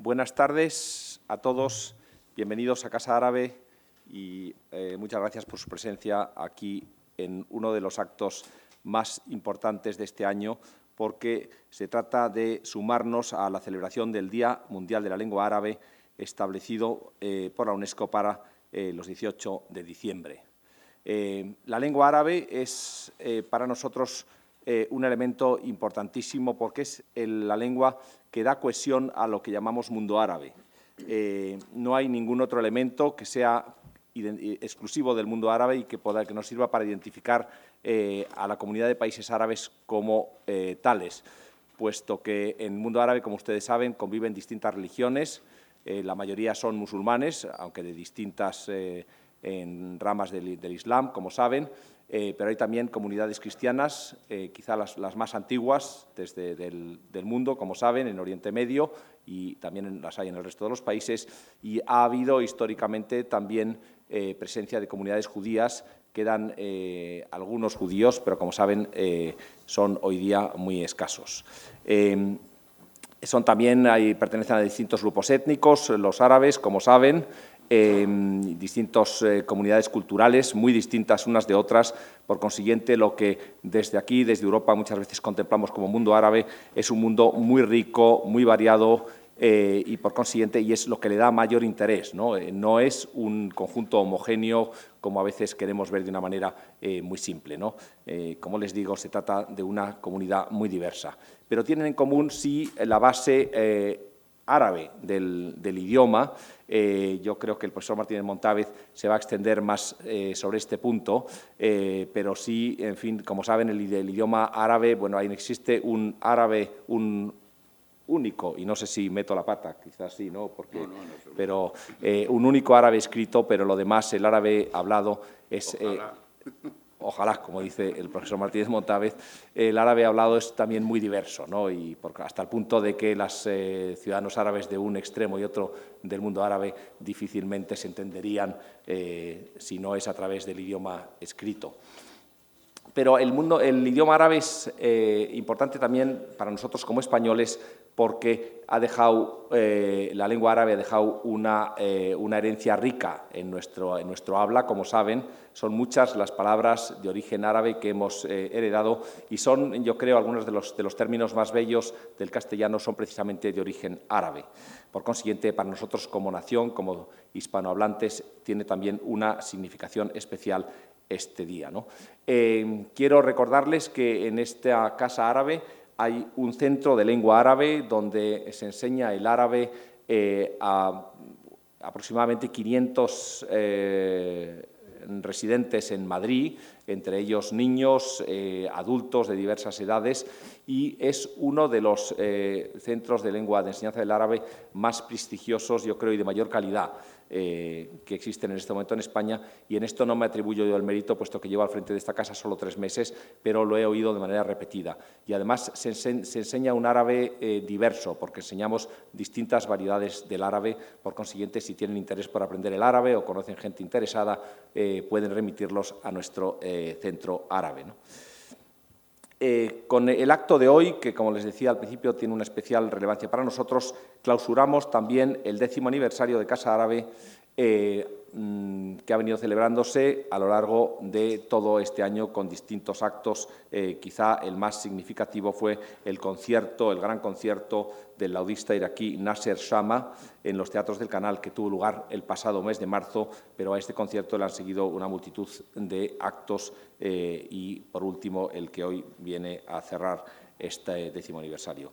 Buenas tardes a todos, bienvenidos a Casa Árabe y muchas gracias por su presencia aquí en uno de los actos más importantes de este año, porque se trata de sumarnos a la celebración del Día Mundial de la Lengua Árabe establecido por la UNESCO para los 18 de diciembre. La lengua árabe es para nosotros un elemento importantísimo porque es la lengua que da cohesión a lo que llamamos mundo árabe. No hay ningún otro elemento que sea exclusivo del mundo árabe y que nos sirva para identificar a la comunidad de países árabes como tales, puesto que en el mundo árabe, como ustedes saben, conviven distintas religiones. La mayoría son musulmanes, aunque de distintas en ramas del Islam, como saben, pero hay también comunidades cristianas, quizá las más antiguas del mundo, como saben, en Oriente Medio, y también las hay en el resto de los países, y ha habido históricamente también presencia de comunidades judías. Quedan algunos judíos, pero como saben son hoy día muy escasos. Pertenecen a distintos grupos étnicos, los árabes, como saben, distintas comunidades culturales muy distintas unas de otras. Por consiguiente, lo que desde aquí, desde Europa, muchas veces contemplamos como mundo árabe es un mundo muy rico, muy variado y, por consiguiente, y es lo que le da mayor interés, ¿no? No es un conjunto homogéneo como a veces queremos ver de una manera muy simple, ¿no? Como les digo, se trata de una comunidad muy diversa, pero tienen en común, sí, la base árabe del idioma. Yo creo que el profesor Martínez Montávez se va a extender más sobre este punto, pero sí, en fin, como saben, el idioma árabe, bueno, ahí existe un árabe, un único, y no sé si meto la pata, quizás sí, ¿no? Porque, no, pero un único árabe escrito, pero lo demás, el árabe hablado es... Ojalá, como dice el profesor Martínez Montávez, el árabe hablado es también muy diverso, ¿no? Y hasta el punto de que los ciudadanos árabes de un extremo y otro del mundo árabe difícilmente se entenderían si no es a través del idioma escrito. Pero el idioma árabe es importante también para nosotros como españoles porque la lengua árabe ha dejado una herencia rica en nuestro habla. Como saben, son muchas las palabras de origen árabe que hemos heredado y son, yo creo, algunos de los términos más bellos del castellano son precisamente de origen árabe. Por consiguiente, para nosotros como nación, como hispanohablantes, tiene también una significación especial este día, ¿no? Quiero recordarles que en esta Casa Árabe hay un centro de lengua árabe donde se enseña el árabe a aproximadamente 500 residentes en Madrid, entre ellos niños, adultos de diversas edades, y es uno de los centros de enseñanza del árabe más prestigiosos, yo creo, y de mayor calidad que existen en este momento en España, y en esto no me atribuyo yo el mérito, puesto que llevo al frente de esta casa solo 3 meses, pero lo he oído de manera repetida. Y además se enseña un árabe diverso, porque enseñamos distintas variedades del árabe. Por consiguiente, si tienen interés por aprender el árabe o conocen gente interesada, pueden remitirlos a nuestro centro árabe, ¿no? Con el acto de hoy, que como les decía al principio tiene una especial relevancia para nosotros, clausuramos también el 10º aniversario de Casa Árabe que ha venido celebrándose a lo largo de todo este año con distintos actos. Quizá el más significativo fue el gran concierto del laudista iraquí Nasser Shama en los teatros del Canal, que tuvo lugar el pasado mes de marzo, pero a este concierto le han seguido una multitud de actos y, por último, el que hoy viene a cerrar este 10º aniversario.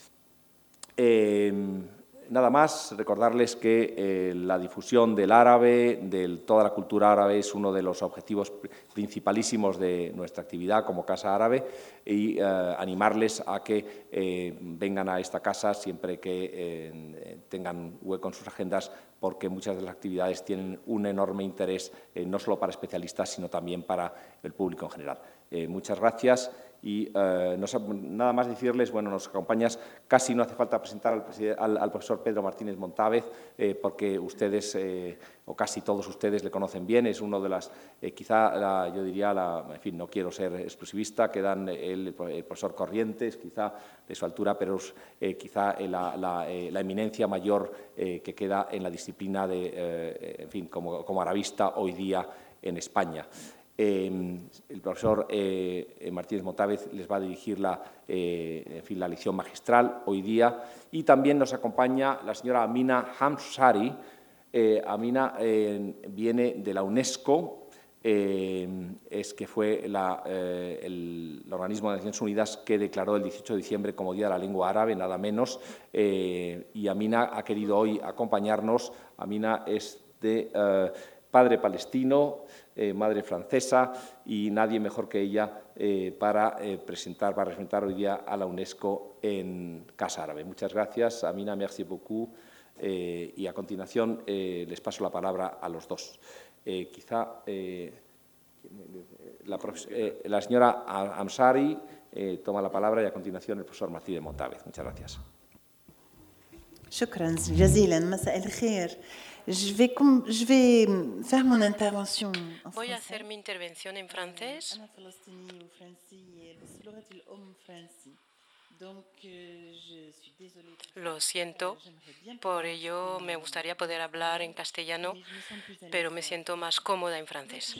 Nada más, recordarles que la difusión del árabe, de toda la cultura árabe, es uno de los objetivos principalísimos de nuestra actividad como Casa Árabe, y animarles a que vengan a esta casa siempre que tengan hueco en sus agendas, porque muchas de las actividades tienen un enorme interés, no solo para especialistas, sino también para el público en general. Muchas gracias Y nada más decirles, bueno, nos acompañas, casi no hace falta presentar al profesor Pedro Martínez Montávez, porque ustedes, o casi todos ustedes, le conocen bien. Es uno de las, yo diría, en fin, no quiero ser exclusivista, que dan el profesor Corrientes, quizá de su altura, pero quizá la eminencia mayor que queda en la disciplina de, en fin, como arabista hoy día en España. El profesor Martínez Montávez les va a dirigir en fin, la lección magistral hoy día, y también nos acompaña la señora Amina Hamshari. Amina viene de la UNESCO, que fue el organismo de Naciones Unidas que declaró el 18 de diciembre como Día de la Lengua Árabe, nada menos, y Amina ha querido hoy acompañarnos. Amina es de padre palestino, madre francesa, y nadie mejor que ella para representar hoy día a la UNESCO en Casa Árabe. Muchas gracias, Amina, merci beaucoup. Y a continuación les paso la palabra a los dos. La señora Hamshari toma la palabra, y a continuación el profesor Martínez Montávez. Muchas gracias. شكرا جزيلا. مساء الخير. Voy a hacer mi intervención en francés. Lo siento, por ello me gustaría poder hablar en castellano, pero me siento más cómoda en francés.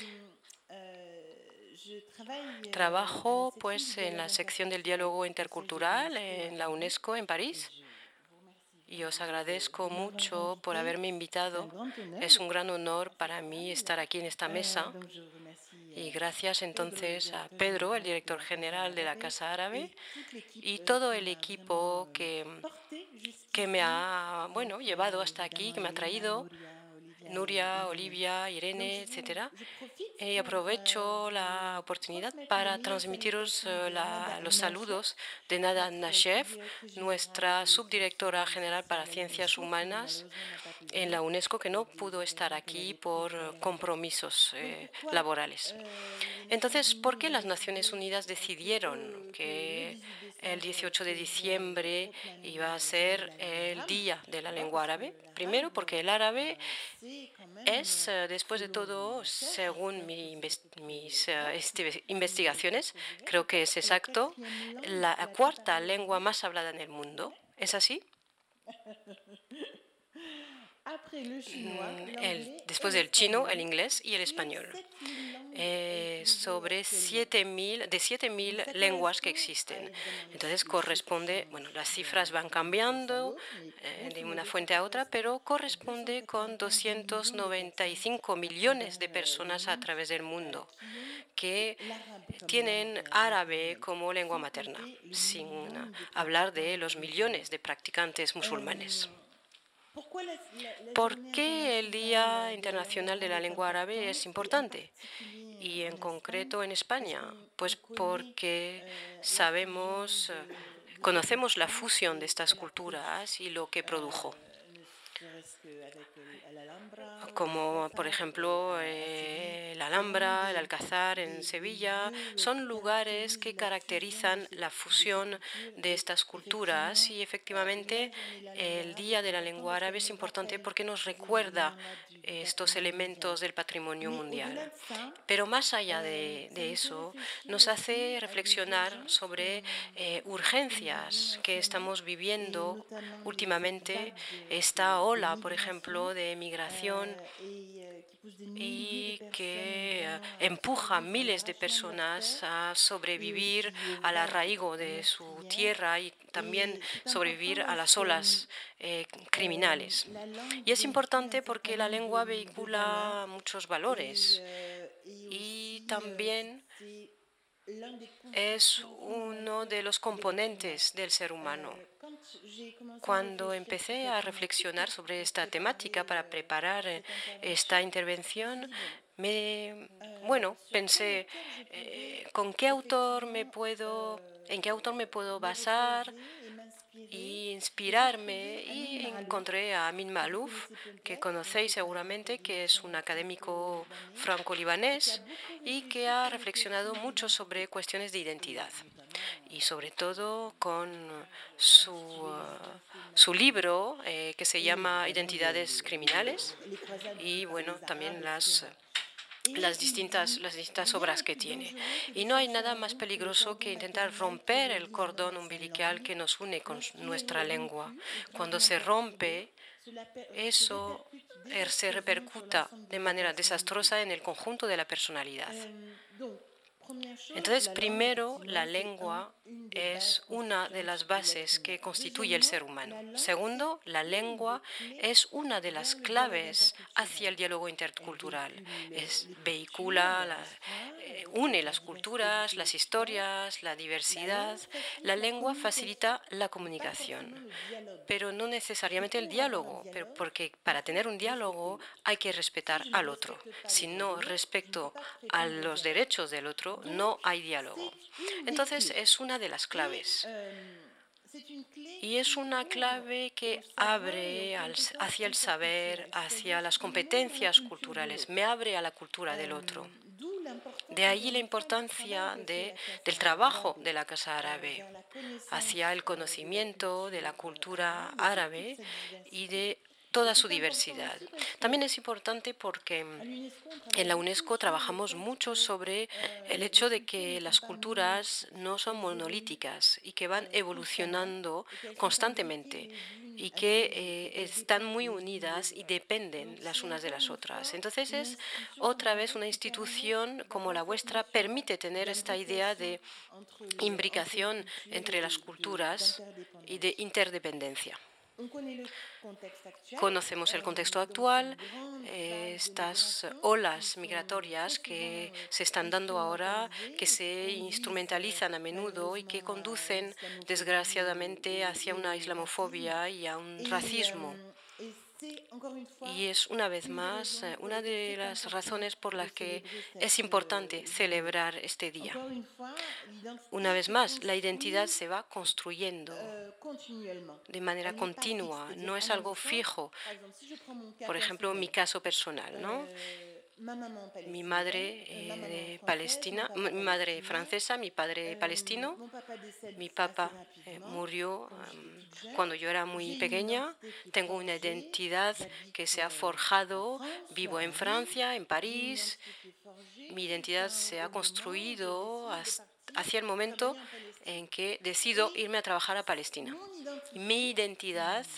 Trabajo pues en la sección del diálogo intercultural en la UNESCO en París. Y os agradezco mucho por haberme invitado. Es un gran honor para mí estar aquí en esta mesa. Y gracias entonces a Pedro, el director general de la Casa Árabe, y todo el equipo que me ha llevado hasta aquí, que me ha traído, Nuria, Olivia, Irene, etc. Y aprovecho la oportunidad para transmitiros los saludos de Nada Nashef, nuestra subdirectora general para Ciencias Humanas en la UNESCO, que no pudo estar aquí por compromisos laborales. Entonces, ¿por qué las Naciones Unidas decidieron que el 18 de diciembre iba a ser el Día de la Lengua Árabe? Primero, porque el árabe es, después de todo, según mis investigaciones, creo que es exacto, la cuarta lengua más hablada en el mundo. ¿Es así? Después del chino, el inglés y el español. Sobre 7.000 lenguas que existen. Entonces corresponde, las cifras van cambiando de una fuente a otra, pero corresponde con 295 millones de personas a través del mundo que tienen árabe como lengua materna, sin hablar de los millones de practicantes musulmanes. ¿Por qué el Día Internacional de la Lengua Árabe es importante? Y en concreto en España, pues porque conocemos la fusión de estas culturas y lo que produjo. Como por ejemplo la Alhambra, el Alcázar en Sevilla, son lugares que caracterizan la fusión de estas culturas, y efectivamente el Día de la Lengua Árabe es importante porque nos recuerda estos elementos del patrimonio mundial. Pero más allá de eso, nos hace reflexionar sobre urgencias que estamos viviendo últimamente, esta ola, por ejemplo, de migración, y que empuja a miles de personas a sobrevivir al arraigo de su tierra y también sobrevivir a las olas criminales. Y es importante porque la lengua vehicula muchos valores y también es uno de los componentes del ser humano. Cuando empecé a reflexionar sobre esta temática para preparar esta intervención, pensé en qué autor me puedo basar e inspirarme, y encontré a Amin Maalouf, que conocéis seguramente, que es un académico franco-libanés y que ha reflexionado mucho sobre cuestiones de identidad. Y sobre todo con su libro que se llama Identidades Criminales y, bueno, también las distintas obras que tiene. Y no hay nada más peligroso que intentar romper el cordón umbilical que nos une con nuestra lengua. Cuando se rompe, eso se repercuta de manera desastrosa en el conjunto de la personalidad. Entonces, primero, la lengua es una de las bases que constituye el ser humano. Segundo, la lengua es una de las claves hacia el diálogo intercultural. Une las culturas, las historias, la diversidad. La lengua facilita la comunicación, pero no necesariamente el diálogo, porque para tener un diálogo hay que respetar al otro. Si no respeto a los derechos del otro, no hay diálogo. Entonces, es una de las claves. Y es una clave que abre hacia el saber, hacia las competencias culturales, me abre a la cultura del otro. De ahí la importancia del trabajo de la Casa Árabe hacia el conocimiento de la cultura árabe y de toda su diversidad. También es importante porque en la UNESCO trabajamos mucho sobre el hecho de que las culturas no son monolíticas y que van evolucionando constantemente y que están muy unidas y dependen las unas de las otras. Entonces, es otra vez una institución como la vuestra permite tener esta idea de imbricación entre las culturas y de interdependencia. Conocemos el contexto actual, estas olas migratorias que se están dando ahora, que se instrumentalizan a menudo y que conducen, desgraciadamente, hacia una islamofobia y a un racismo. Y es, una vez más, una de las razones por las que es importante celebrar este día. Una vez más, la identidad se va construyendo de manera continua, no es algo fijo. Por ejemplo, mi caso personal, ¿no? Mi madre palestina, mi madre francesa, mi padre palestino. Mi papá murió cuando yo era muy pequeña. Tengo una identidad que se ha forjado. Vivo en Francia, en París. Mi identidad se ha construido hacia el momento en que decido irme a trabajar a Palestina. Mi identidad,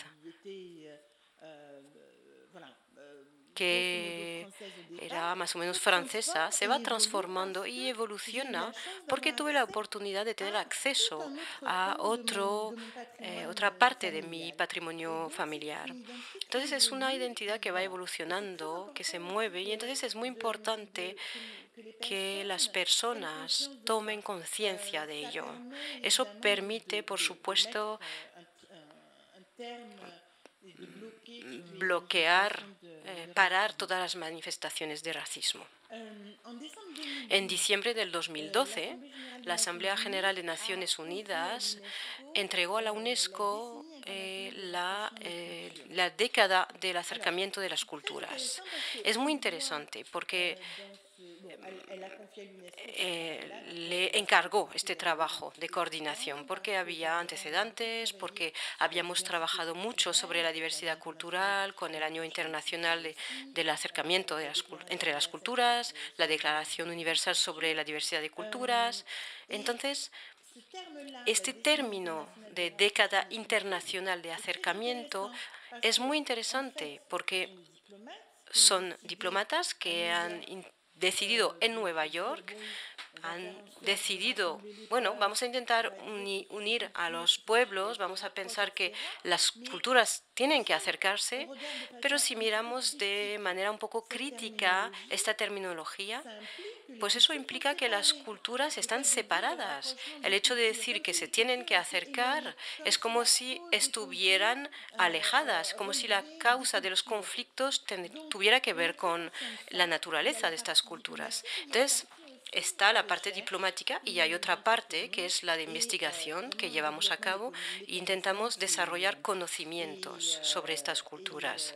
que era más o menos francesa, se va transformando y evoluciona porque tuve la oportunidad de tener acceso a otra parte de mi patrimonio familiar. Entonces, es una identidad que va evolucionando, que se mueve, y entonces es muy importante que las personas tomen conciencia de ello. Eso permite, por supuesto, parar todas las manifestaciones de racismo. En diciembre del 2012, la Asamblea General de Naciones Unidas entregó a la UNESCO la década del acercamiento de las culturas. Es muy interesante porque le encargó este trabajo de coordinación porque había antecedentes, porque habíamos trabajado mucho sobre la diversidad cultural con el Año Internacional del Acercamiento entre las Culturas, la Declaración Universal sobre la Diversidad de Culturas. Entonces, este término de década internacional de acercamiento es muy interesante porque son diplomatas que han decidido en Nueva York, han decidido, bueno, vamos a intentar unir a los pueblos, vamos a pensar que las culturas tienen que acercarse, pero si miramos de manera un poco crítica esta terminología, pues eso implica que las culturas están separadas. El hecho de decir que se tienen que acercar es como si estuvieran alejadas, como si la causa de los conflictos tuviera que ver con la naturaleza de estas culturas. Entonces, está la parte diplomática y hay otra parte que es la de investigación que llevamos a cabo e intentamos desarrollar conocimientos sobre estas culturas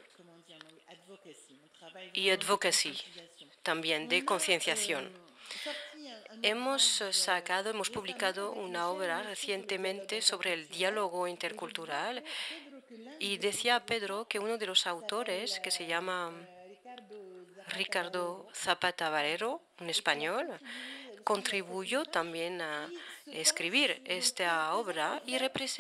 y advocacy también de concienciación. Hemos publicado una obra recientemente sobre el diálogo intercultural y decía Pedro que uno de los autores, que se llama Ricardo Zapata Valero, un español, contribuyó también a escribir esta obra y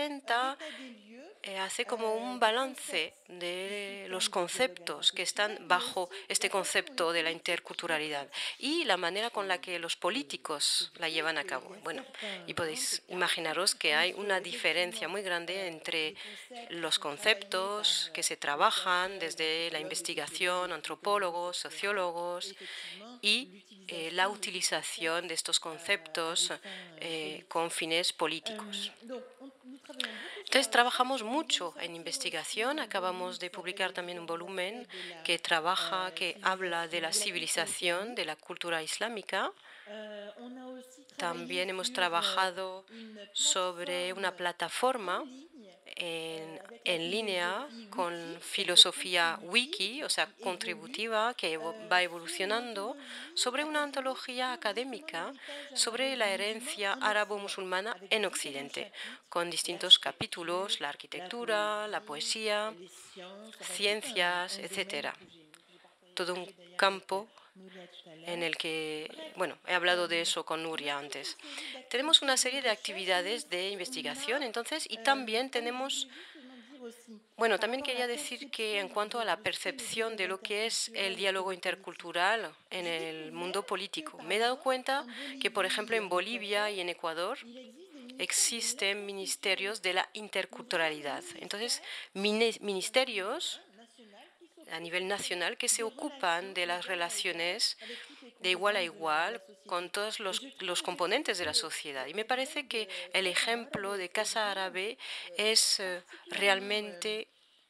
hace como un balance de los conceptos que están bajo este concepto de la interculturalidad y la manera con la que los políticos la llevan a cabo. Bueno, y podéis imaginaros que hay una diferencia muy grande entre los conceptos que se trabajan desde la investigación, antropólogos, sociólogos, y la utilización de estos conceptos con fines políticos. Entonces, trabajamos mucho en investigación. Acabamos de publicar también un volumen que habla de la civilización, de la cultura islámica. También hemos trabajado sobre una plataforma en línea con filosofía wiki, o sea, contributiva, que va evolucionando, sobre una antología académica sobre la herencia árabo-musulmana en Occidente, con distintos capítulos: la arquitectura, la poesía, ciencias, etcétera. Todo un campo en el que, bueno, he hablado de eso con Nuria antes. Tenemos una serie de actividades de investigación, entonces, y también tenemos, bueno, también quería decir que en cuanto a la percepción de lo que es el diálogo intercultural en el mundo político, me he dado cuenta que, por ejemplo, en Bolivia y en Ecuador existen ministerios de la interculturalidad. Entonces, ministerios a nivel nacional que se ocupan de las relaciones de igual a igual con todos los componentes de la sociedad. Y me parece que el ejemplo de Casa Árabe es realmente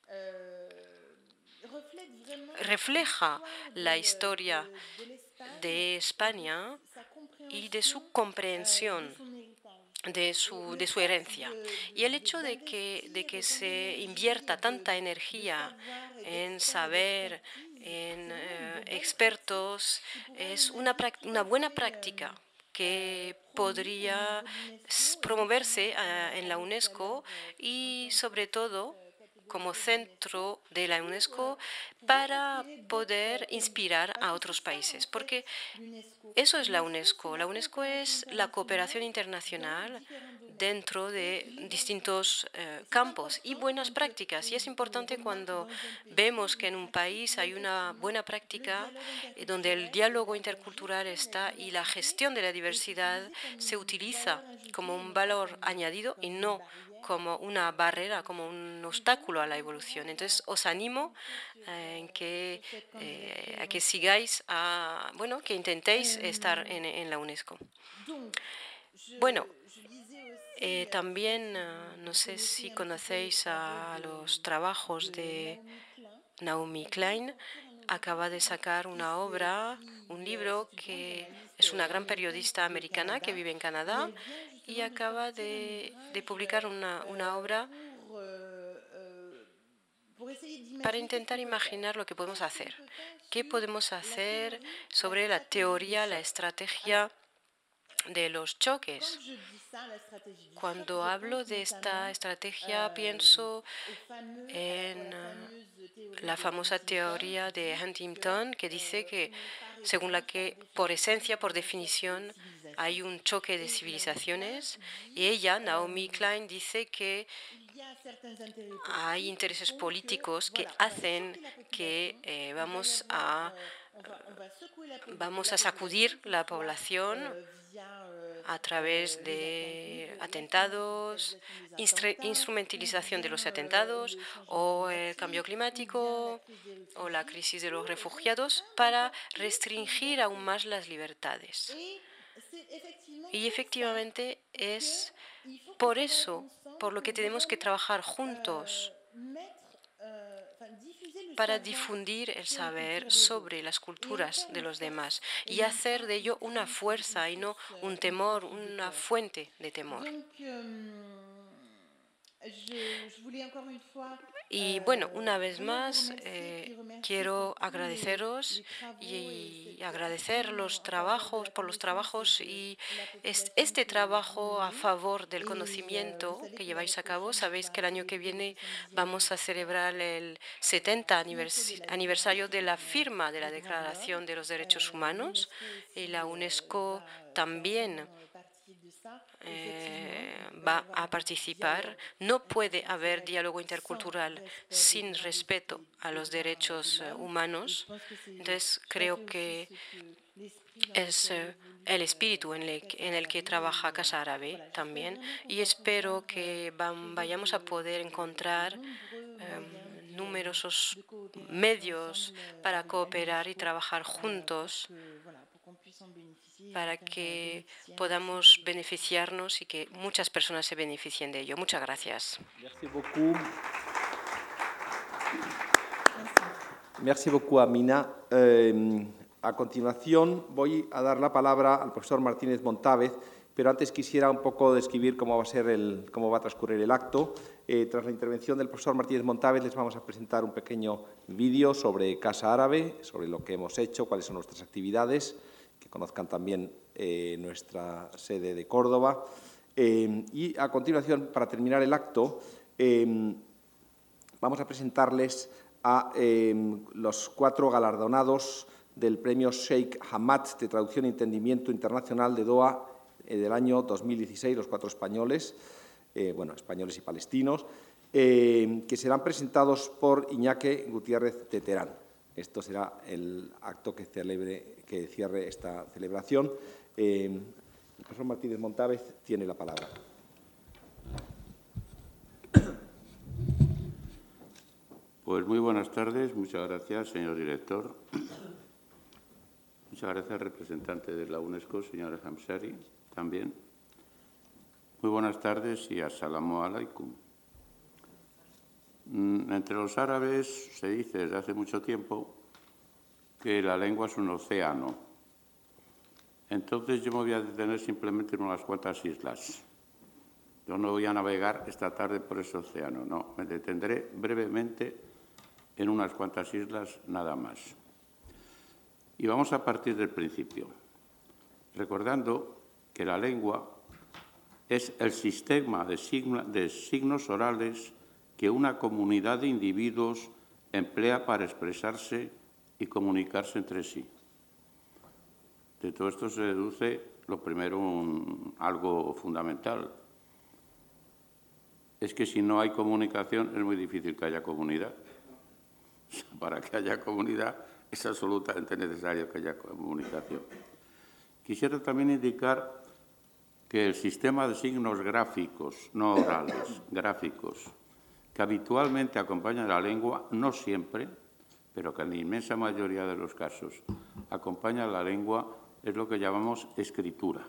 refleja la historia de España y de su comprensión de su herencia. Y el hecho de que se invierta tanta energía en saber, en expertos, es una buena práctica que podría promoverse en la UNESCO y, sobre todo, como centro de la UNESCO para poder inspirar a otros países. Porque eso es la UNESCO. La UNESCO es la cooperación internacional dentro de distintos campos y buenas prácticas. Y es importante cuando vemos que en un país hay una buena práctica donde el diálogo intercultural está y la gestión de la diversidad se utiliza como un valor añadido y no como una barrera, como un obstáculo a la evolución. Entonces, os animo a que sigáis, bueno, que intentéis estar en la UNESCO. Bueno, también no sé si conocéis a los trabajos de Naomi Klein. Acaba de sacar una obra, un libro, que es una gran periodista americana que vive en Canadá y acaba de publicar una obra para intentar imaginar lo que podemos hacer. ¿Qué podemos hacer sobre la teoría, la estrategia de los choques? Cuando hablo de esta estrategia, pienso en la famosa teoría de Huntington, que dice que, según la que, por esencia, por definición, hay un choque de civilizaciones, y ella, Naomi Klein, dice que hay intereses políticos que hacen que vamos a sacudir la población a través de atentados, instrumentalización de los atentados, o el cambio climático, o la crisis de los refugiados, para restringir aún más las libertades. Y efectivamente es por eso por lo que tenemos que trabajar juntos para difundir el saber sobre las culturas de los demás y hacer de ello una fuerza y no un temor, una fuente de temor. Y bueno, una vez más, quiero agradeceros y agradecer por los trabajos y este trabajo a favor del conocimiento que lleváis a cabo. Sabéis que el año que viene vamos a celebrar el 70 aniversario de la firma de la Declaración de los Derechos Humanos y la UNESCO también va a participar. No puede haber diálogo intercultural sin respeto a los derechos humanos. Entonces, creo que es el espíritu en el que trabaja Casa Árabe también, y espero que vayamos a poder encontrar numerosos medios para cooperar y trabajar juntos para que podamos beneficiarnos y que muchas personas se beneficien de ello. Muchas gracias. Merci beaucoup. Merci beaucoup, Amina. A continuación voy a dar la palabra al profesor Martínez Montávez, pero antes quisiera un poco describir cómo va a transcurrir el acto. Tras la intervención del profesor Martínez Montávez les vamos a presentar un pequeño vídeo sobre Casa Árabe, sobre lo que hemos hecho, cuáles son nuestras actividades, que conozcan también nuestra sede de Córdoba. Y a continuación, para terminar el acto, vamos a presentarles a los 4 galardonados del premio Sheikh Hamad de Traducción e Entendimiento Internacional de Doha del año 2016, los 4 españoles, españoles y palestinos, que serán presentados por Iñaki Gutiérrez de Terán. Esto será el acto que cierre esta celebración. El profesor Martínez Montávez tiene la palabra. Pues muy buenas tardes. Muchas gracias, señor director. Muchas gracias, representante de la UNESCO, señora Hamshari, también. Muy buenas tardes y assalamu alaikum. Entre los árabes se dice desde hace mucho tiempo que la lengua es un océano. Entonces yo me voy a detener simplemente en unas cuantas islas. Yo no voy a navegar esta tarde por ese océano, no. Me detendré brevemente en unas cuantas islas nada más. Y vamos a partir del principio, recordando que la lengua es el sistema de signos orales que una comunidad de individuos emplea para expresarse y comunicarse entre sí. De todo esto se deduce, lo primero, algo fundamental. Es que si no hay comunicación es muy difícil que haya comunidad. Para que haya comunidad es absolutamente necesario que haya comunicación. Quisiera también indicar que el sistema de signos gráficos, no orales, gráficos, que habitualmente acompañan a la lengua, no siempre, pero que en la inmensa mayoría de los casos acompaña a la lengua, es lo que llamamos escritura.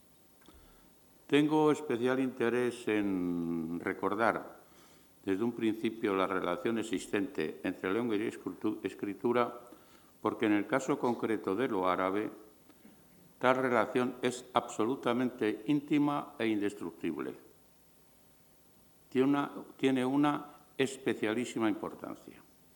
Tengo especial interés en recordar desde un principio la relación existente entre lengua y escritura, porque en el caso concreto de lo árabe, tal relación es absolutamente íntima e indestructible. Tiene una especialísima importancia.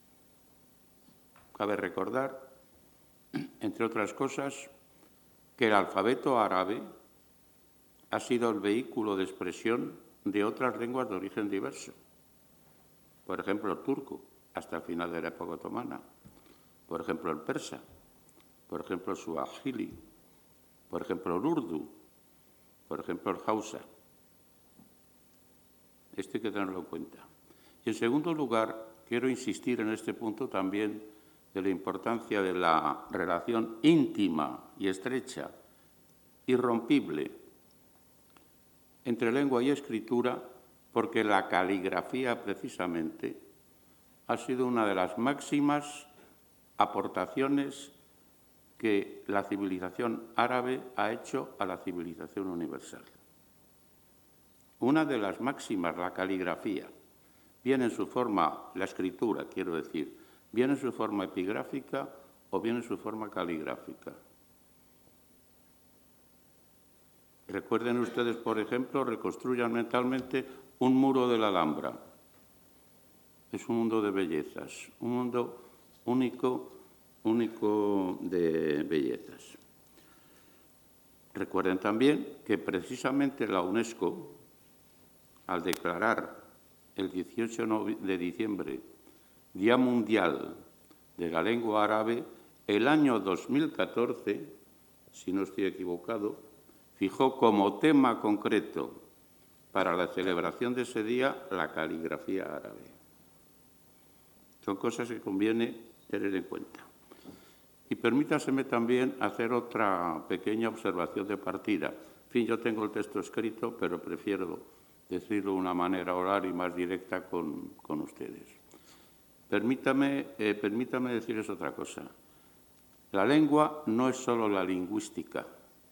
Cabe recordar, entre otras cosas, que el alfabeto árabe ha sido el vehículo de expresión de otras lenguas de origen diverso. Por ejemplo, el turco, hasta el final de la época otomana. Por ejemplo, el persa. Por ejemplo, el suajili. Por ejemplo, el urdu. Por ejemplo, el hausa. Esto hay que tenerlo en cuenta. Y, en segundo lugar, quiero insistir en este punto también de la importancia de la relación íntima y estrecha, irrompible, entre lengua y escritura, porque la caligrafía, precisamente, ha sido una de las máximas aportaciones que la civilización árabe ha hecho a la civilización universal. Una de las máximas, la caligrafía. bien en su forma, la escritura, quiero decir, bien en su forma epigráfica o bien en su forma caligráfica. Recuerden ustedes, por ejemplo, reconstruyan mentalmente un muro de la Alhambra. Es un mundo de bellezas, un mundo único de bellezas. Recuerden también que precisamente la UNESCO, al declarar el 18 de diciembre Día Mundial de la Lengua Árabe, el año 2014, si no estoy equivocado, fijó como tema concreto para la celebración de ese día la caligrafía árabe. Son cosas que conviene tener en cuenta. Y permítaseme también hacer otra pequeña observación de partida. En fin, yo tengo el texto escrito, pero prefiero decirlo de una manera oral y más directa con ustedes. Permítame decirles otra cosa. La lengua no es solo la lingüística.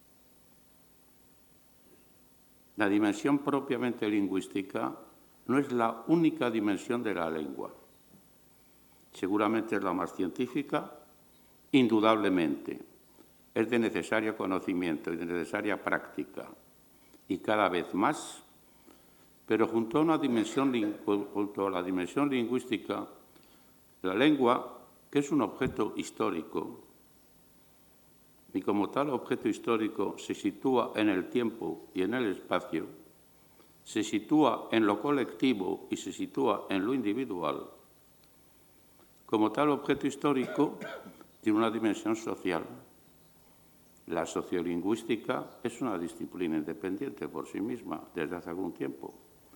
La dimensión propiamente lingüística no es la única dimensión de la lengua. Seguramente es la más científica, indudablemente. Es de necesario conocimiento y de necesaria práctica. Y cada vez más, pero junto a la dimensión lingüística, la lengua, que es un objeto histórico, y como tal objeto histórico se sitúa en el tiempo y en el espacio, se sitúa en lo colectivo y se sitúa en lo individual, como tal objeto histórico tiene una dimensión social. La sociolingüística es una disciplina independiente por sí misma desde hace algún tiempo,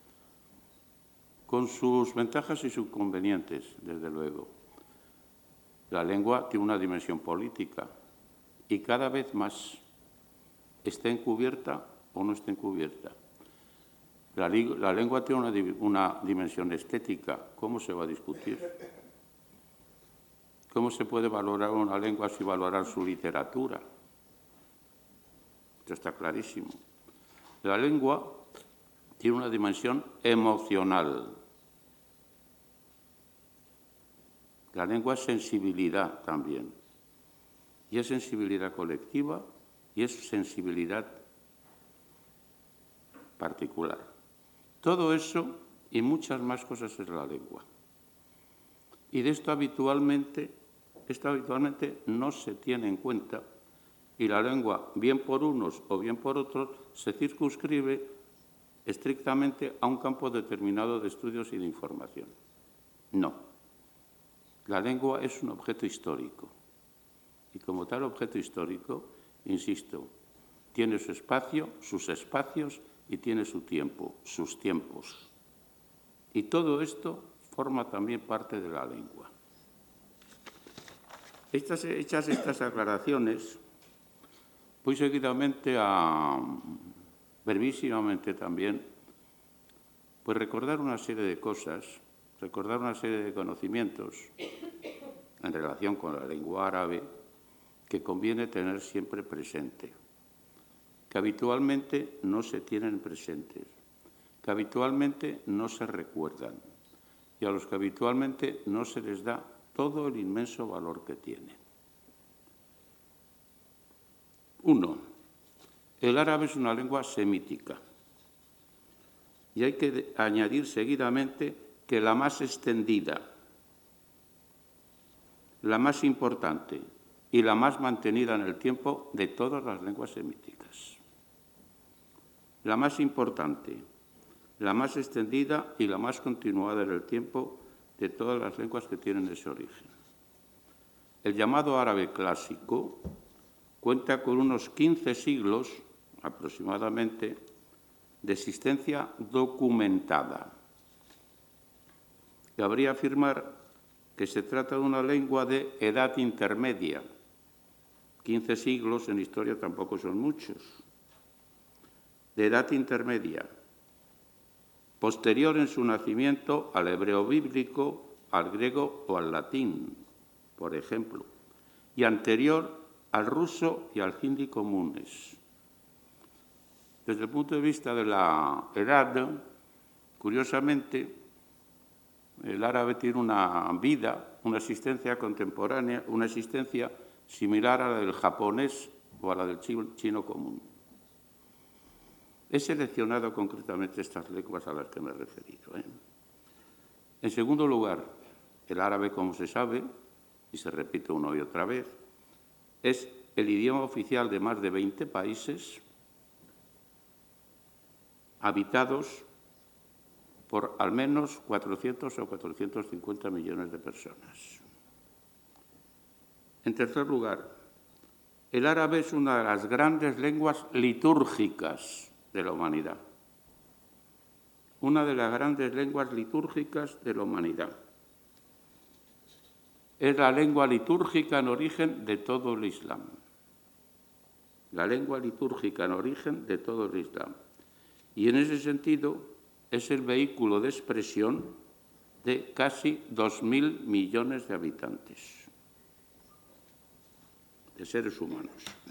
con sus ventajas y sus inconvenientes, desde luego. La lengua tiene una dimensión política y cada vez más está encubierta o no está encubierta. La lengua tiene una dimensión estética. ¿Cómo se va a discutir? ¿Cómo se puede valorar una lengua sin valorar su literatura? Esto está clarísimo. La lengua tiene una dimensión emocional. La lengua es sensibilidad también. Y es sensibilidad colectiva y es sensibilidad particular. Todo eso y muchas más cosas es la lengua. Y de esto habitualmente no se tiene en cuenta y la lengua, bien por unos o bien por otros, se circunscribe estrictamente a un campo determinado de estudios y de información. No. La lengua es un objeto histórico. Y como tal objeto histórico, insisto, tiene su espacio, sus espacios y tiene su tiempo, sus tiempos. Y todo esto forma también parte de la lengua. Hechas estas aclaraciones, voy seguidamente brevísimamente también, pues recordar una serie de cosas, recordar una serie de conocimientos en relación con la lengua árabe que conviene tener siempre presente, que habitualmente no se tienen presentes, que habitualmente no se recuerdan y a los que habitualmente no se les da todo el inmenso valor que tienen. 1. El árabe es una lengua semítica y hay que añadir seguidamente que la más extendida, la más importante y la más mantenida en el tiempo de todas las lenguas semíticas. La más importante, la más extendida y la más continuada en el tiempo de todas las lenguas que tienen ese origen. El llamado árabe clásico cuenta con unos 15 siglos aproximadamente de existencia documentada. Cabría afirmar que se trata de una lengua de edad intermedia. 15 siglos en historia tampoco son muchos. De edad intermedia, posterior en su nacimiento al hebreo bíblico, al griego o al latín, por ejemplo, y anterior al ruso y al hindi comunes. Desde el punto de vista de la edad, curiosamente, El árabe tiene una vida, una existencia contemporánea, una existencia similar a la del japonés o a la del chino común. He seleccionado concretamente estas lenguas a las que me he referido. En segundo lugar, el árabe, como se sabe, y se repite una y otra vez, es el idioma oficial de más de 20 países habitados por al menos 400 o 450 millones de personas. En tercer lugar, el árabe es una de las grandes lenguas litúrgicas de la humanidad. Una de las grandes lenguas litúrgicas de la humanidad. Es la lengua litúrgica en origen de todo el Islam. La lengua litúrgica en origen de todo el Islam. Y en ese sentido es el vehículo de expresión de casi 2.000 millones de habitantes, de seres humanos.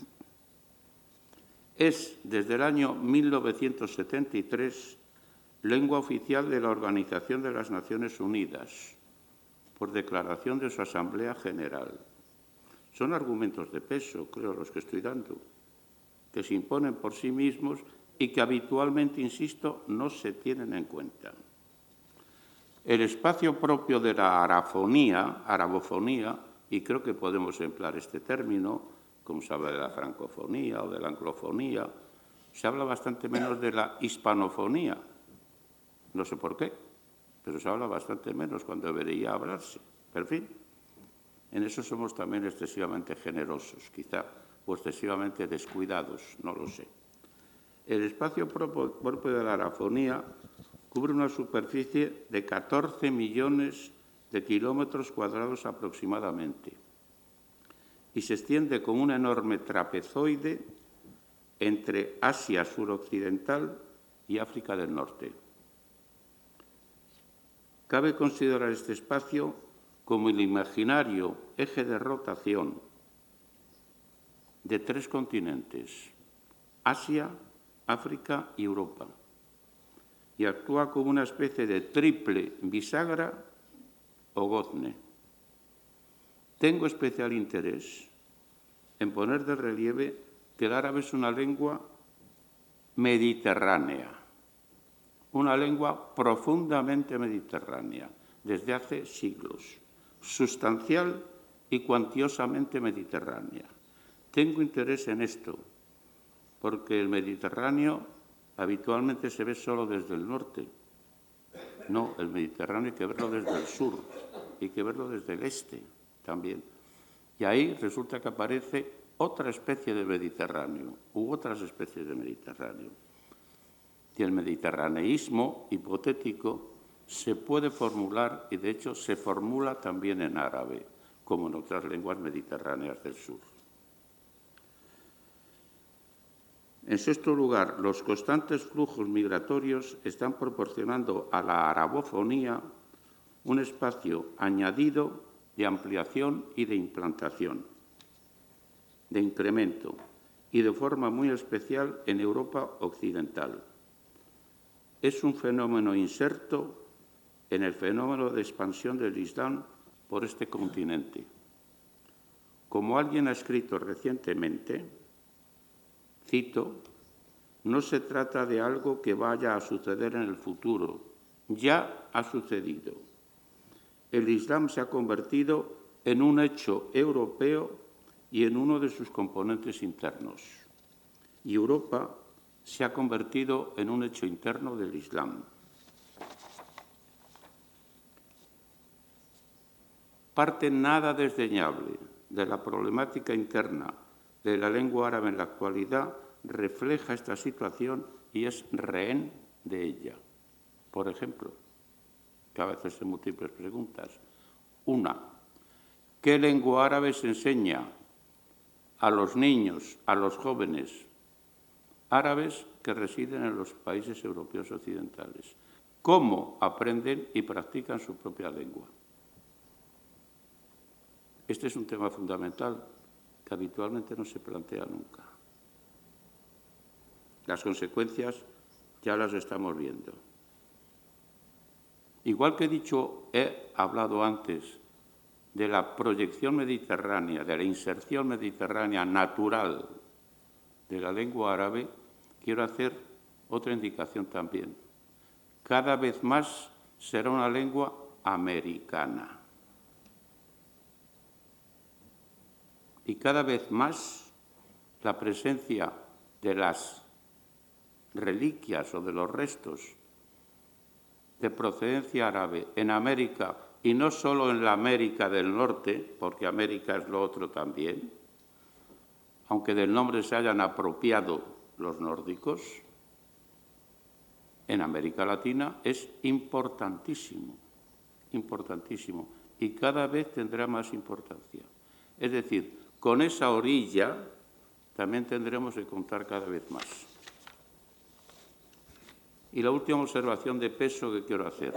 Es, desde el año 1973, lengua oficial de la Organización de las Naciones Unidas, por declaración de su Asamblea General. Son argumentos de peso, creo, los que estoy dando, que se imponen por sí mismos y que habitualmente, insisto, no se tienen en cuenta. El espacio propio de la arabofonía, y creo que podemos emplear este término, como se habla de la francofonía o de la anglofonía, se habla bastante menos de la hispanofonía. No sé por qué, pero se habla bastante menos cuando debería hablarse. Pero, en fin, en eso somos también excesivamente generosos, quizá, o excesivamente descuidados, no lo sé. El espacio propio de la arafonía cubre una superficie de 14 millones de kilómetros cuadrados aproximadamente y se extiende como un enorme trapezoide entre Asia suroccidental y África del Norte. Cabe considerar este espacio como el imaginario eje de rotación de 3 continentes, Asia, África y Europa, y actúa como una especie de triple bisagra o gozne. Tengo especial interés en poner de relieve que el árabe es una lengua mediterránea, una lengua profundamente mediterránea, desde hace siglos, sustancial y cuantiosamente mediterránea. Tengo interés en esto, porque el Mediterráneo habitualmente se ve solo desde el norte. No, el Mediterráneo hay que verlo desde el sur, hay que verlo desde el este también. Y ahí resulta que aparece otra especie de Mediterráneo, u otras especies de Mediterráneo. Y el mediterraneísmo hipotético se puede formular, y de hecho se formula también en árabe, como en otras lenguas mediterráneas del sur. En sexto lugar, los constantes flujos migratorios están proporcionando a la arabofonía un espacio añadido de ampliación y de implantación, de incremento, y de forma muy especial en Europa occidental. Es un fenómeno inserto en el fenómeno de expansión del Islam por este continente. Como alguien ha escrito recientemente, cito, no se trata de algo que vaya a suceder en el futuro, ya ha sucedido. El Islam se ha convertido en un hecho europeo y en uno de sus componentes internos. Y Europa se ha convertido en un hecho interno del Islam. Parte nada desdeñable de la problemática interna de la lengua árabe en la actualidad refleja esta situación y es rehén de ella. Por ejemplo, que a veces hay múltiples preguntas. Una, ¿qué lengua árabe se enseña a los niños, a los jóvenes árabes que residen en los países europeos occidentales? ¿Cómo aprenden y practican su propia lengua? Este es un tema fundamental que habitualmente no se plantea nunca. Las consecuencias ya las estamos viendo. Igual que he hablado antes de la proyección mediterránea, de la inserción mediterránea natural de la lengua árabe, quiero hacer otra indicación también. Cada vez más será una lengua americana. Y cada vez más la presencia de las reliquias o de los restos de procedencia árabe en América, y no solo en la América del Norte, porque América es lo otro también, aunque del nombre se hayan apropiado los nórdicos, en América Latina es importantísimo, importantísimo, y cada vez tendrá más importancia. Es decir, con esa orilla también tendremos que contar cada vez más. Y la última observación de peso que quiero hacer.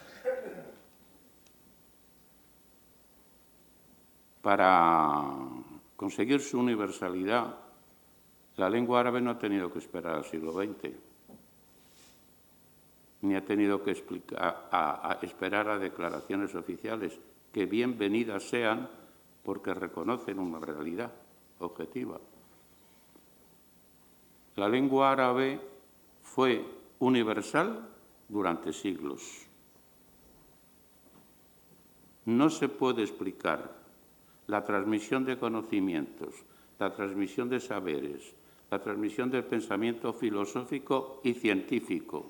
Para conseguir su universalidad, la lengua árabe no ha tenido que esperar al siglo XX, ni ha tenido que esperar a declaraciones oficiales, que bienvenidas sean porque reconocen una realidad objetiva. La lengua árabe fue universal durante siglos. No se puede explicar la transmisión de conocimientos, la transmisión de saberes, la transmisión del pensamiento filosófico y científico,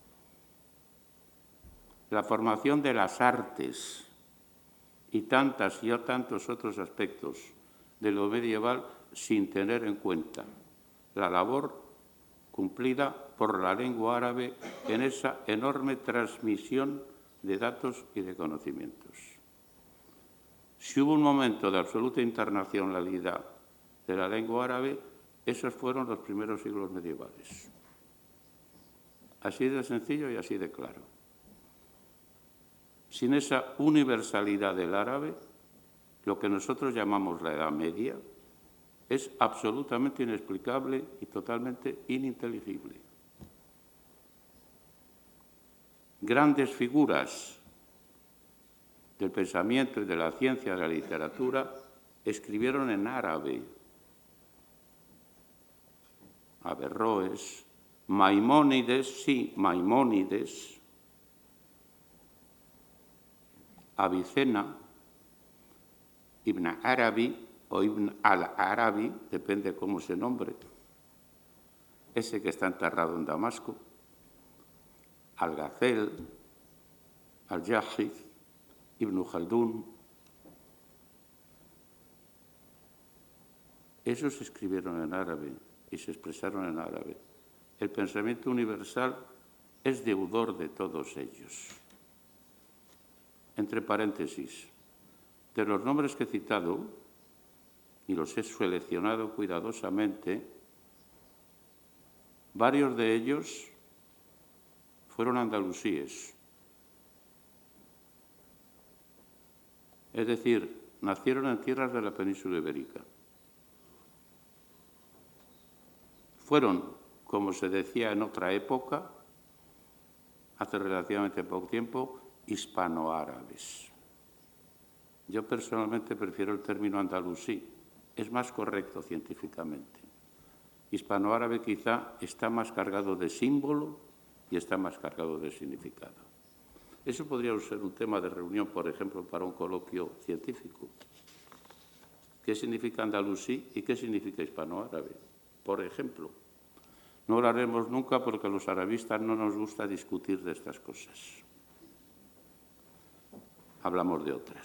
la formación de las artes y tantos otros aspectos de lo medieval sin tener en cuenta la labor cumplida por la lengua árabe en esa enorme transmisión de datos y de conocimientos. Si hubo un momento de absoluta internacionalidad de la lengua árabe, esos fueron los primeros siglos medievales. Así de sencillo y así de claro. Sin esa universalidad del árabe, lo que nosotros llamamos la Edad Media es absolutamente inexplicable y totalmente ininteligible. Grandes figuras del pensamiento y de la ciencia, de la literatura, escribieron en árabe. Averroes, Maimónides, Avicena, Ibn Arabi o Ibn al-Arabi, depende cómo se nombre, ese que está enterrado en Damasco, Al-Ghazal, Al-Jahiz, Ibn Khaldún. Esos escribieron en árabe y se expresaron en árabe. El pensamiento universal es deudor de todos ellos. Entre paréntesis, de los nombres que he citado, y los he seleccionado cuidadosamente, varios de ellos fueron andalusíes. Es decir, nacieron en tierras de la península ibérica. Fueron, como se decía en otra época, hace relativamente poco tiempo, hispanoárabes. Yo personalmente prefiero el término andalusí, es más correcto científicamente. Hispanoárabe quizá está más cargado de símbolo y está más cargado de significado. Eso podría ser un tema de reunión, por ejemplo, para un coloquio científico. ¿Qué significa andalusí y qué significa hispanoárabe? Por ejemplo, no lo haremos nunca porque a los arabistas no nos gusta discutir de estas cosas. Hablamos de otras.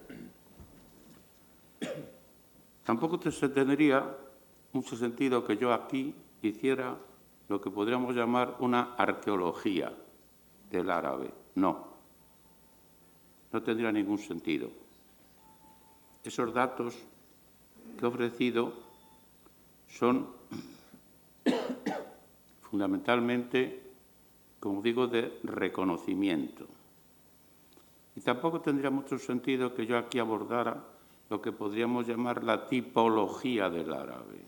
Tampoco tendría mucho sentido que yo aquí hiciera lo que podríamos llamar una arqueología del árabe. No tendría ningún sentido. Esos datos que he ofrecido son fundamentalmente, como digo, de reconocimiento. Y tampoco tendría mucho sentido que yo aquí abordara lo que podríamos llamar la tipología del árabe.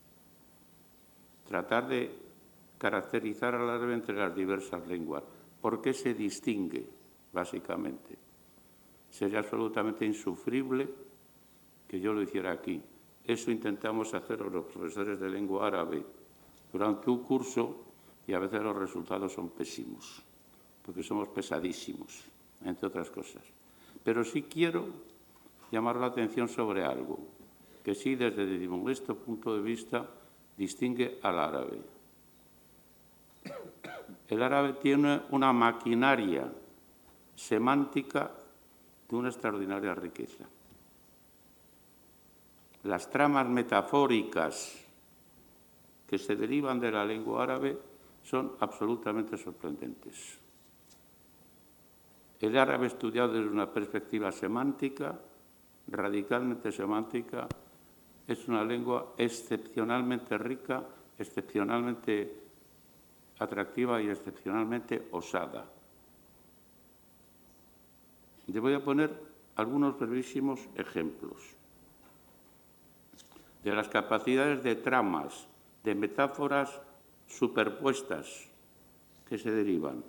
Tratar de caracterizar al árabe entre las diversas lenguas. ¿Por qué se distingue básicamente. Sería absolutamente insufrible que yo lo hiciera aquí. Eso intentamos hacer los profesores de lengua árabe durante un curso y a veces los resultados son pésimos, porque somos pesadísimos, entre otras cosas. Pero sí quiero llamar la atención sobre algo que sí, desde mi modesto punto de vista, distingue al árabe. El árabe tiene una maquinaria semántica de una extraordinaria riqueza. Las tramas metafóricas que se derivan de la lengua árabe son absolutamente sorprendentes. El árabe estudiado desde una perspectiva semántica, radicalmente semántica, es una lengua excepcionalmente rica, excepcionalmente atractiva y excepcionalmente osada. Le voy a poner algunos brevísimos ejemplos de las capacidades de tramas, de metáforas superpuestas que se derivan.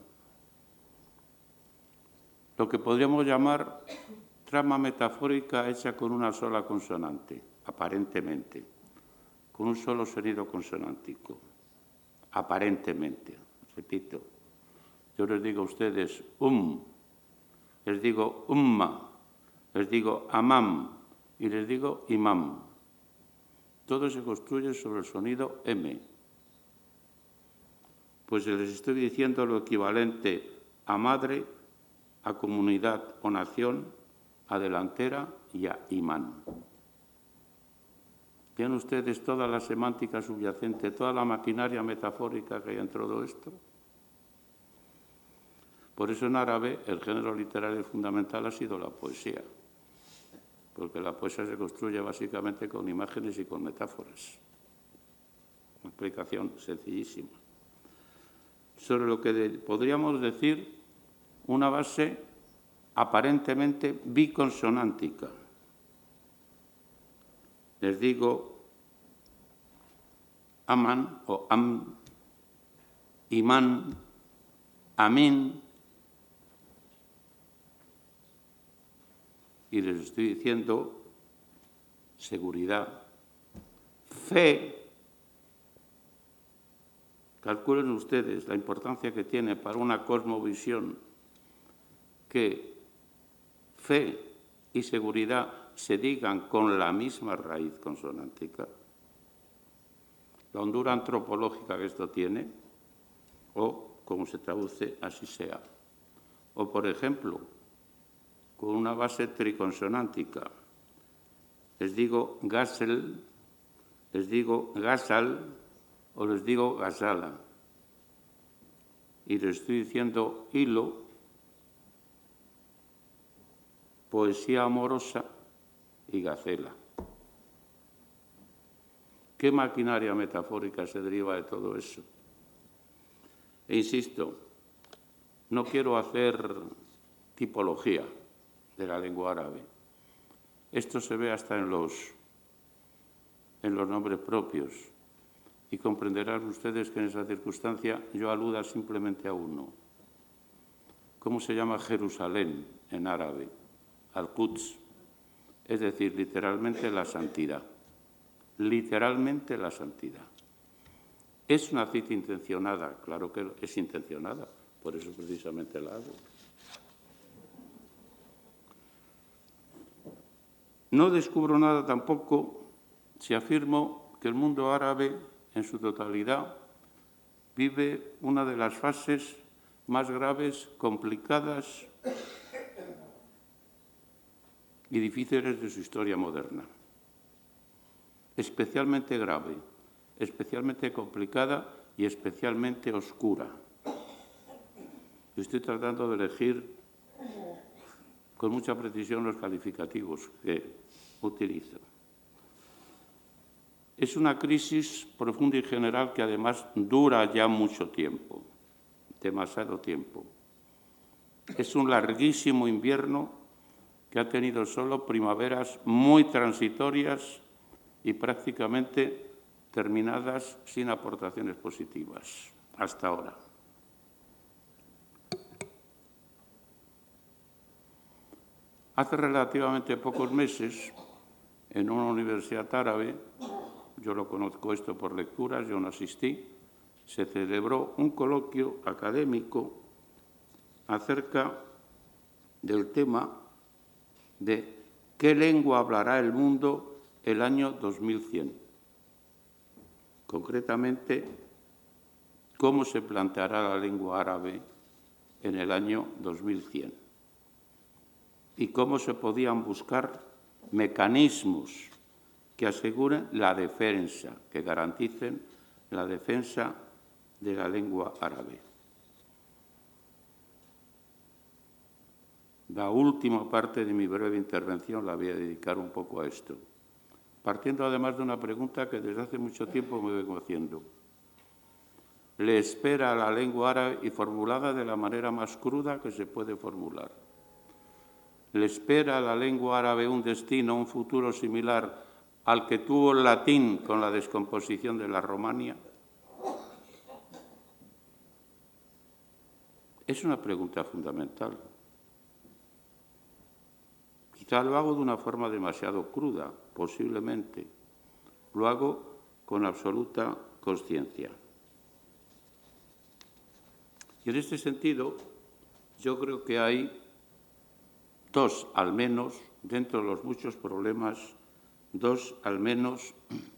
Lo que podríamos llamar trama metafórica hecha con una sola consonante, aparentemente, con un solo sonido consonántico, aparentemente. Repito, yo les digo a ustedes les digo umma, les digo amam y les digo imam. Todo se construye sobre el sonido M. Pues les estoy diciendo lo equivalente a madre, a comunidad o nación, a delantera y a imán. ¿Tienen ustedes toda la semántica subyacente, toda la maquinaria metafórica que hay en todo esto? Por eso en árabe el género literario fundamental ha sido la poesía, porque la poesía se construye básicamente con imágenes y con metáforas. Una explicación sencillísima. Sobre lo que podríamos decir una base aparentemente biconsonántica. Les digo aman o am, imán, amín, y les estoy diciendo seguridad, fe. Calculen ustedes la importancia que tiene para una cosmovisión que fe y seguridad se digan con la misma raíz consonántica. La hondura antropológica que esto tiene, o como se traduce, así sea. O, por ejemplo, con una base triconsonántica. Les digo gasel, les digo gasal o les digo gasala. Y les estoy diciendo hilo, poesía amorosa y gacela. ¿Qué maquinaria metafórica se deriva de todo eso? E insisto, no quiero hacer tipología de la lengua árabe. Esto se ve hasta en los nombres propios. Y comprenderán ustedes que en esa circunstancia yo aluda simplemente a uno. ¿Cómo se llama Jerusalén en árabe? Al-Quds, es decir, literalmente la santidad. Literalmente la santidad. ¿Es una cita intencionada? Claro que es intencionada, por eso precisamente la hago. No descubro nada tampoco si afirmo que el mundo árabe en su totalidad vive una de las fases más graves, complicadas y difíciles de su historia moderna. Especialmente grave, especialmente complicada y especialmente oscura. Estoy tratando de elegir con mucha precisión los calificativos que utilizo. Es una crisis profunda y general que además dura ya mucho tiempo, demasiado tiempo. Es un larguísimo invierno que ha tenido solo primaveras muy transitorias y prácticamente terminadas sin aportaciones positivas hasta ahora. Hace relativamente pocos meses, en una universidad árabe, yo lo conozco esto por lecturas, yo no asistí, se celebró un coloquio académico acerca del tema de qué lengua hablará el mundo el año 2100. Concretamente, cómo se planteará la lengua árabe en el año 2100 y cómo se podían buscar mecanismos que aseguren la defensa, que garanticen la defensa de la lengua árabe. La última parte de mi breve intervención la voy a dedicar un poco a esto, partiendo además de una pregunta que desde hace mucho tiempo me vengo haciendo. ¿Le espera a la lengua árabe, y formulada de la manera más cruda que se puede formular? ¿Le espera a la lengua árabe un destino, un futuro similar al que tuvo el latín con la descomposición de la Romania? Es una pregunta fundamental. Quizá lo hago de una forma demasiado cruda, posiblemente. Lo hago con absoluta consciencia. Y en este sentido, yo creo que hay dos, al menos, dentro de los muchos problemas, dos, al menos,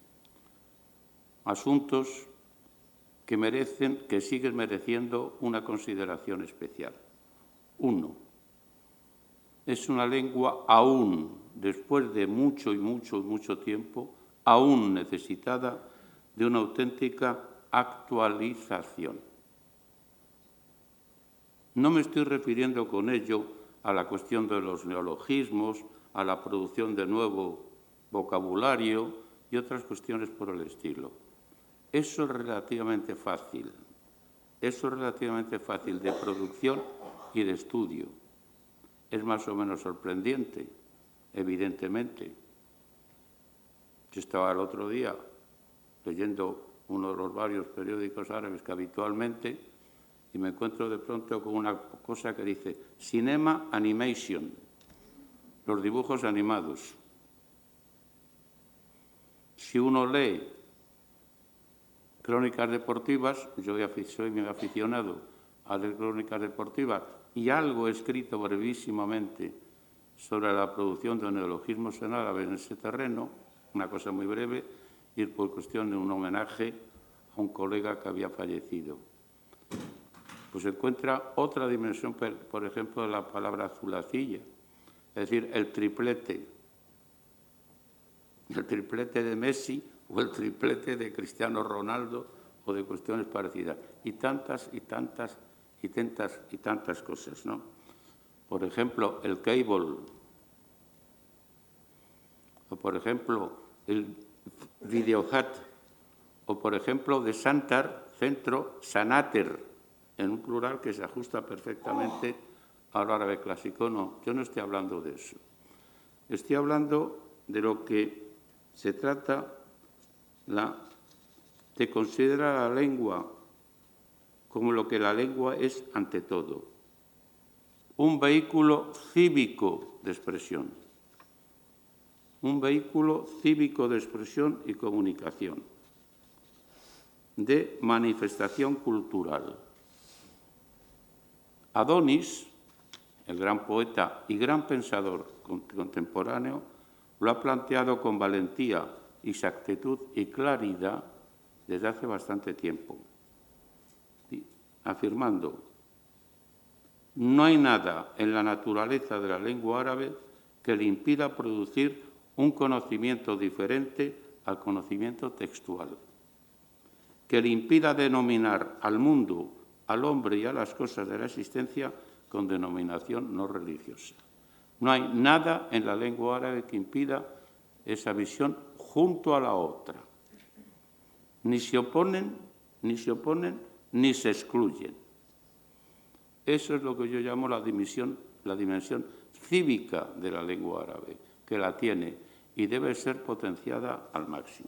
asuntos que siguen mereciendo una consideración especial. Uno, es una lengua aún, después de mucho tiempo, aún necesitada de una auténtica actualización. No me estoy refiriendo con ello a la cuestión de los neologismos, a la producción de nuevo vocabulario y otras cuestiones por el estilo. Eso es relativamente fácil. Eso es relativamente fácil de producción y de estudio. Es más o menos sorprendente, evidentemente. Yo estaba el otro día leyendo uno de los varios periódicos árabes que habitualmente, y me encuentro de pronto con una cosa que dice Cinema Animation, los dibujos animados. Si uno lee crónicas deportivas, yo soy muy aficionado a leer crónicas deportivas y algo he escrito brevísimamente sobre la producción de neologismos en árabe en ese terreno, una cosa muy breve, y por cuestión de un homenaje a un colega que había fallecido. Pues se encuentra otra dimensión, por ejemplo, de la palabra zulacilla, es decir, el triplete de Messi o el triplete de Cristiano Ronaldo o de cuestiones parecidas, y tantas cosas, ¿no? Por ejemplo, el cable, o por ejemplo, el videohat, o por ejemplo, de Santar, centro, Sanater, en un plural que se ajusta perfectamente al árabe clásico. No, yo no estoy hablando de eso. Estoy hablando de lo que se trata de considerar a la lengua como lo que la lengua es ante todo, un vehículo cívico de expresión, un vehículo cívico de expresión y comunicación, de manifestación cultural. Adonis, el gran poeta y gran pensador contemporáneo, lo ha planteado con valentía, exactitud y claridad desde hace bastante tiempo, afirmando: no hay nada en la naturaleza de la lengua árabe que le impida producir un conocimiento diferente al conocimiento textual, que le impida denominar al mundo, al hombre y a las cosas de la existencia con denominación no religiosa. No hay nada en la lengua árabe que impida esa visión junto a la otra. Ni se oponen, ni se excluyen. Eso es lo que yo llamo la dimensión cívica de la lengua árabe, que la tiene y debe ser potenciada al máximo.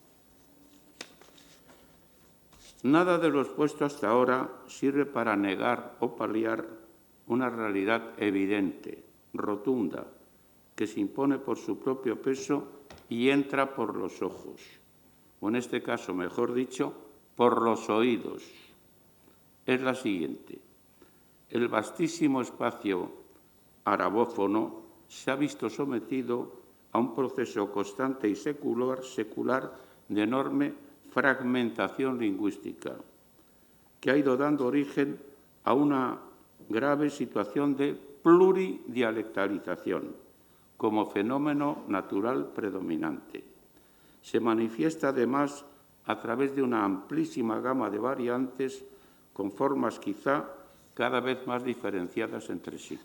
Nada de lo expuesto hasta ahora sirve para negar o paliar una realidad evidente, rotunda, que se impone por su propio peso y entra por los ojos, o en este caso, mejor dicho, por los oídos. Es la siguiente. El vastísimo espacio arabófono se ha visto sometido a un proceso constante y secular de enorme fragmentación lingüística, que ha ido dando origen a una grave situación de pluridialectalización como fenómeno natural predominante. Se manifiesta además a través de una amplísima gama de variantes con formas quizá cada vez más diferenciadas entre sí.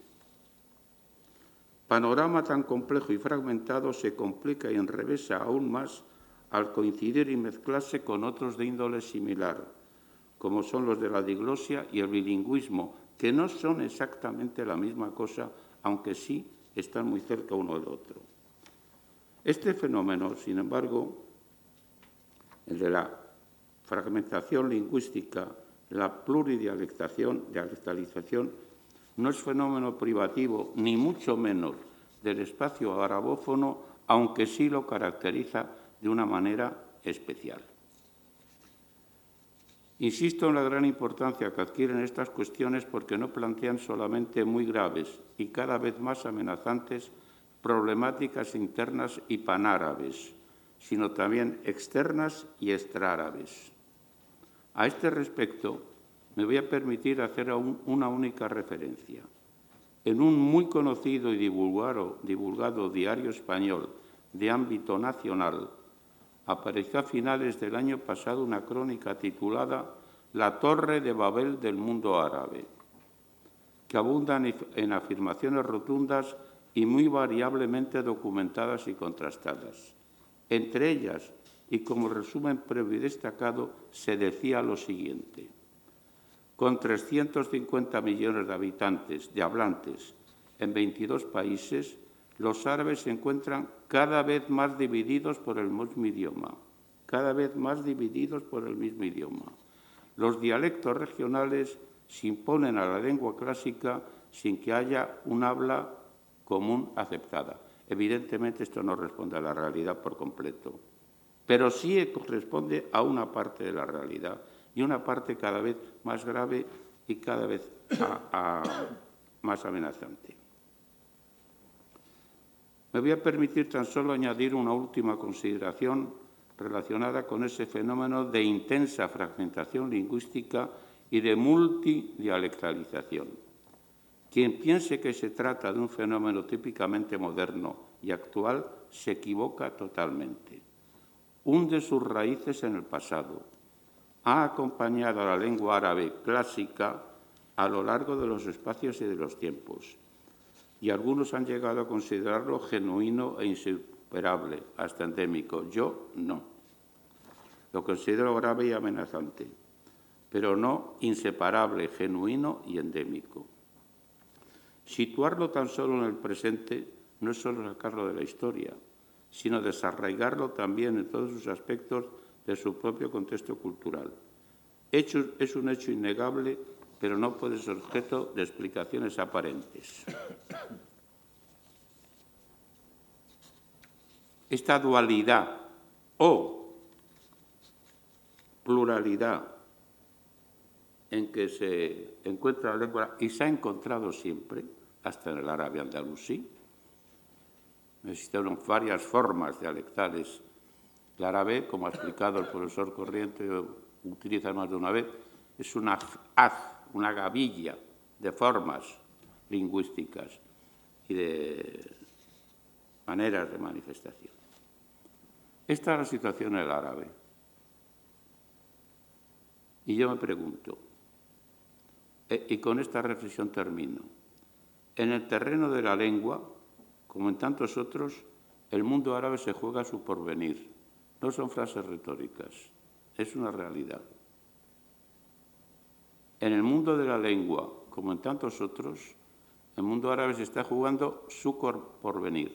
Panorama tan complejo y fragmentado se complica y enrevesa aún más al coincidir y mezclarse con otros de índole similar, como son los de la diglosia y el bilingüismo, que no son exactamente la misma cosa, aunque sí están muy cerca uno del otro. Este fenómeno, sin embargo, el de la fragmentación lingüística, la pluridialectalización, no es fenómeno privativo, ni mucho menos del espacio arabófono, aunque sí lo caracteriza de una manera especial. Insisto en la gran importancia que adquieren estas cuestiones porque no plantean solamente muy graves y cada vez más amenazantes problemáticas internas y panárabes, sino también externas y extraárabes. A este respecto, me voy a permitir hacer una única referencia. En un muy conocido y divulgado diario español de ámbito nacional, apareció a finales del año pasado una crónica titulada «La Torre de Babel del mundo árabe», que abunda en afirmaciones rotundas y muy variablemente documentadas y contrastadas. Entre ellas, y como resumen previo y destacado, se decía lo siguiente. Con 350 millones de habitantes, de hablantes, en 22 países, los árabes se encuentran cada vez más divididos por el mismo idioma. Cada vez más divididos por el mismo idioma. Los dialectos regionales se imponen a la lengua clásica sin que haya un habla común aceptada. Evidentemente, esto no responde a la realidad por completo, pero sí corresponde a una parte de la realidad y una parte cada vez más grave y cada vez más amenazante. Me voy a permitir tan solo añadir una última consideración relacionada con ese fenómeno de intensa fragmentación lingüística y de multidialectalización. Quien piense que se trata de un fenómeno típicamente moderno y actual se equivoca totalmente. Hunde sus raíces en el pasado. Ha acompañado a la lengua árabe clásica a lo largo de los espacios y de los tiempos. Y algunos han llegado a considerarlo genuino e insuperable, hasta endémico. Yo no. Lo considero grave y amenazante, pero no inseparable, genuino y endémico. Situarlo tan solo en el presente no es solo sacarlo de la historia, sino desarraigarlo también en todos sus aspectos de su propio contexto cultural. Es un hecho innegable, pero no puede ser objeto de explicaciones aparentes. Esta dualidad o pluralidad en que se encuentra la lengua y se ha encontrado siempre, hasta en el árabe andalusí. Existen varias formas dialectales. El árabe, como ha explicado el profesor Corriente, utiliza más de una vez, es una gavilla de formas lingüísticas y de maneras de manifestación. Esta es la situación en el árabe. Y yo me pregunto, y con esta reflexión termino, en el terreno de la lengua, como en tantos otros, el mundo árabe se juega su porvenir. No son frases retóricas, es una realidad. En el mundo de la lengua, como en tantos otros, el mundo árabe se está jugando su porvenir.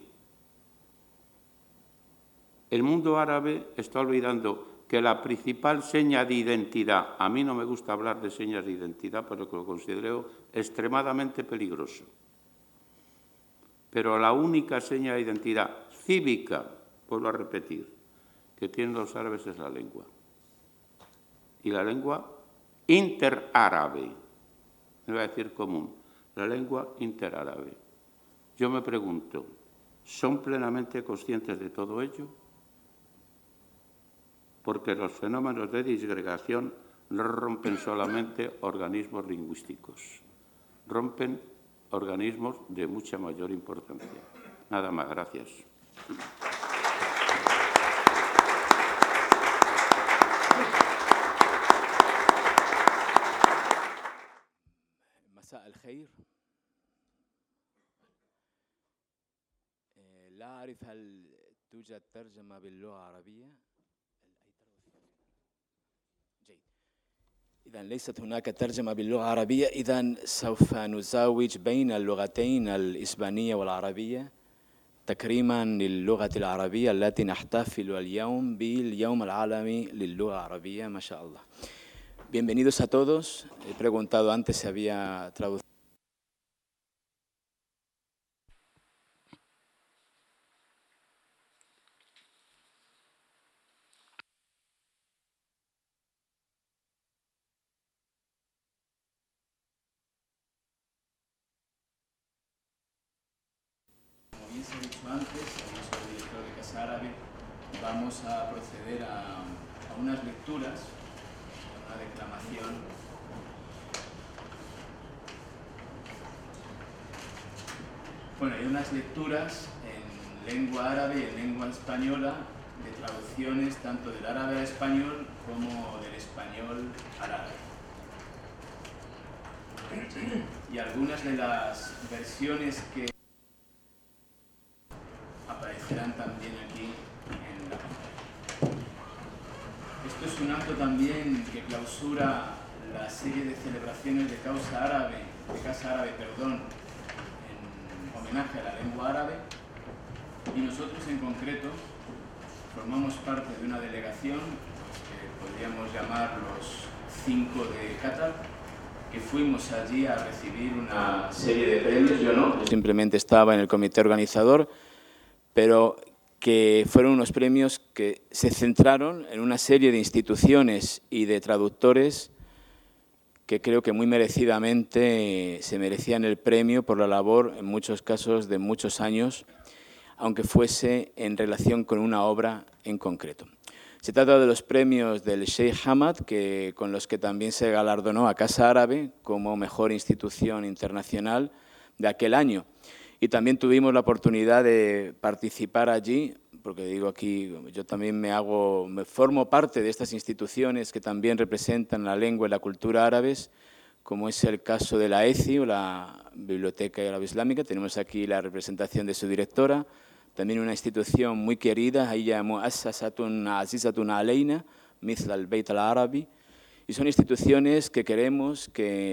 El mundo árabe está olvidando que la principal seña de identidad, a mí no me gusta hablar de señas de identidad, pero que lo considero extremadamente peligroso. Pero la única seña de identidad cívica, vuelvo a repetir, que tienen los árabes es la lengua. Y la lengua interárabe, no voy a decir común, la lengua interárabe. Yo me pregunto, ¿son plenamente conscientes de todo ello? Porque los fenómenos de disgregación no rompen solamente organismos lingüísticos, rompen organismos de mucha mayor importancia. Nada más, gracias. مساء الخير. لا أعرف هل توجد ترجمة باللغة العربية. جيد. إذا ليست هناك ترجمة باللغة العربية، إذا سوف نزاوج بين اللغتين الإسبانية والعربية تكريما للغة العربية التي نحتفل اليوم باليوم العالمي للغة العربية. ما شاء الله. Bienvenidos a todos. He preguntado antes si había traducción. Como bien se ha dicho antes, soy el director de Casa Árabe. Vamos a proceder a unas lecturas, a una declamación. Bueno, hay unas lecturas en lengua árabe y en lengua española de traducciones tanto del árabe al español como del español al árabe. Y algunas de las versiones que aparecerán también aquí en la pantalla. Esto es un acto también que clausura la serie de celebraciones de Casa Árabe, en homenaje a la lengua árabe, y nosotros en concreto formamos parte de una delegación que podríamos llamar los 5 de Qatar, que fuimos allí a recibir una serie de premios. Yo no, simplemente estaba en el comité organizador, pero que fueron unos premios que se centraron en una serie de instituciones y de traductores que creo que muy merecidamente se merecían el premio por la labor, en muchos casos, de muchos años, aunque fuese en relación con una obra en concreto. Se trata de los premios del Sheikh Hamad, con los que también se galardonó a Casa Árabe como mejor institución internacional de aquel año. Y también tuvimos la oportunidad de participar allí, porque digo aquí, yo también me formo parte de estas instituciones que también representan la lengua y la cultura árabes, como es el caso de la ECI, o la Biblioteca Árabe Islámica. Tenemos aquí la representación de su directora, también una institución muy querida, ella Muassasatun Azizatun Aleina, Mithla al-Beit al-Arabi, y son instituciones que creemos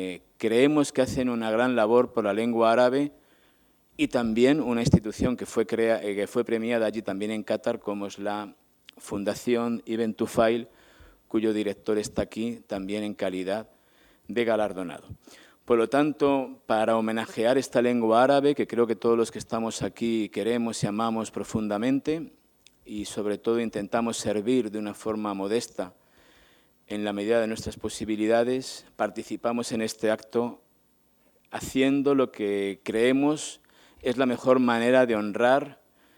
que hacen una gran labor por la lengua árabe, y también una institución que fue premiada allí también en Qatar, como es la Fundación Ibn Tufail, cuyo director está aquí también en calidad de galardonado. Por lo tanto, para homenajear esta lengua árabe, que creo que todos los que estamos aquí queremos y amamos profundamente, y sobre todo intentamos servir de una forma modesta en la medida de nuestras posibilidades, participamos en este acto haciendo lo que creemos es la mejor manera de honrar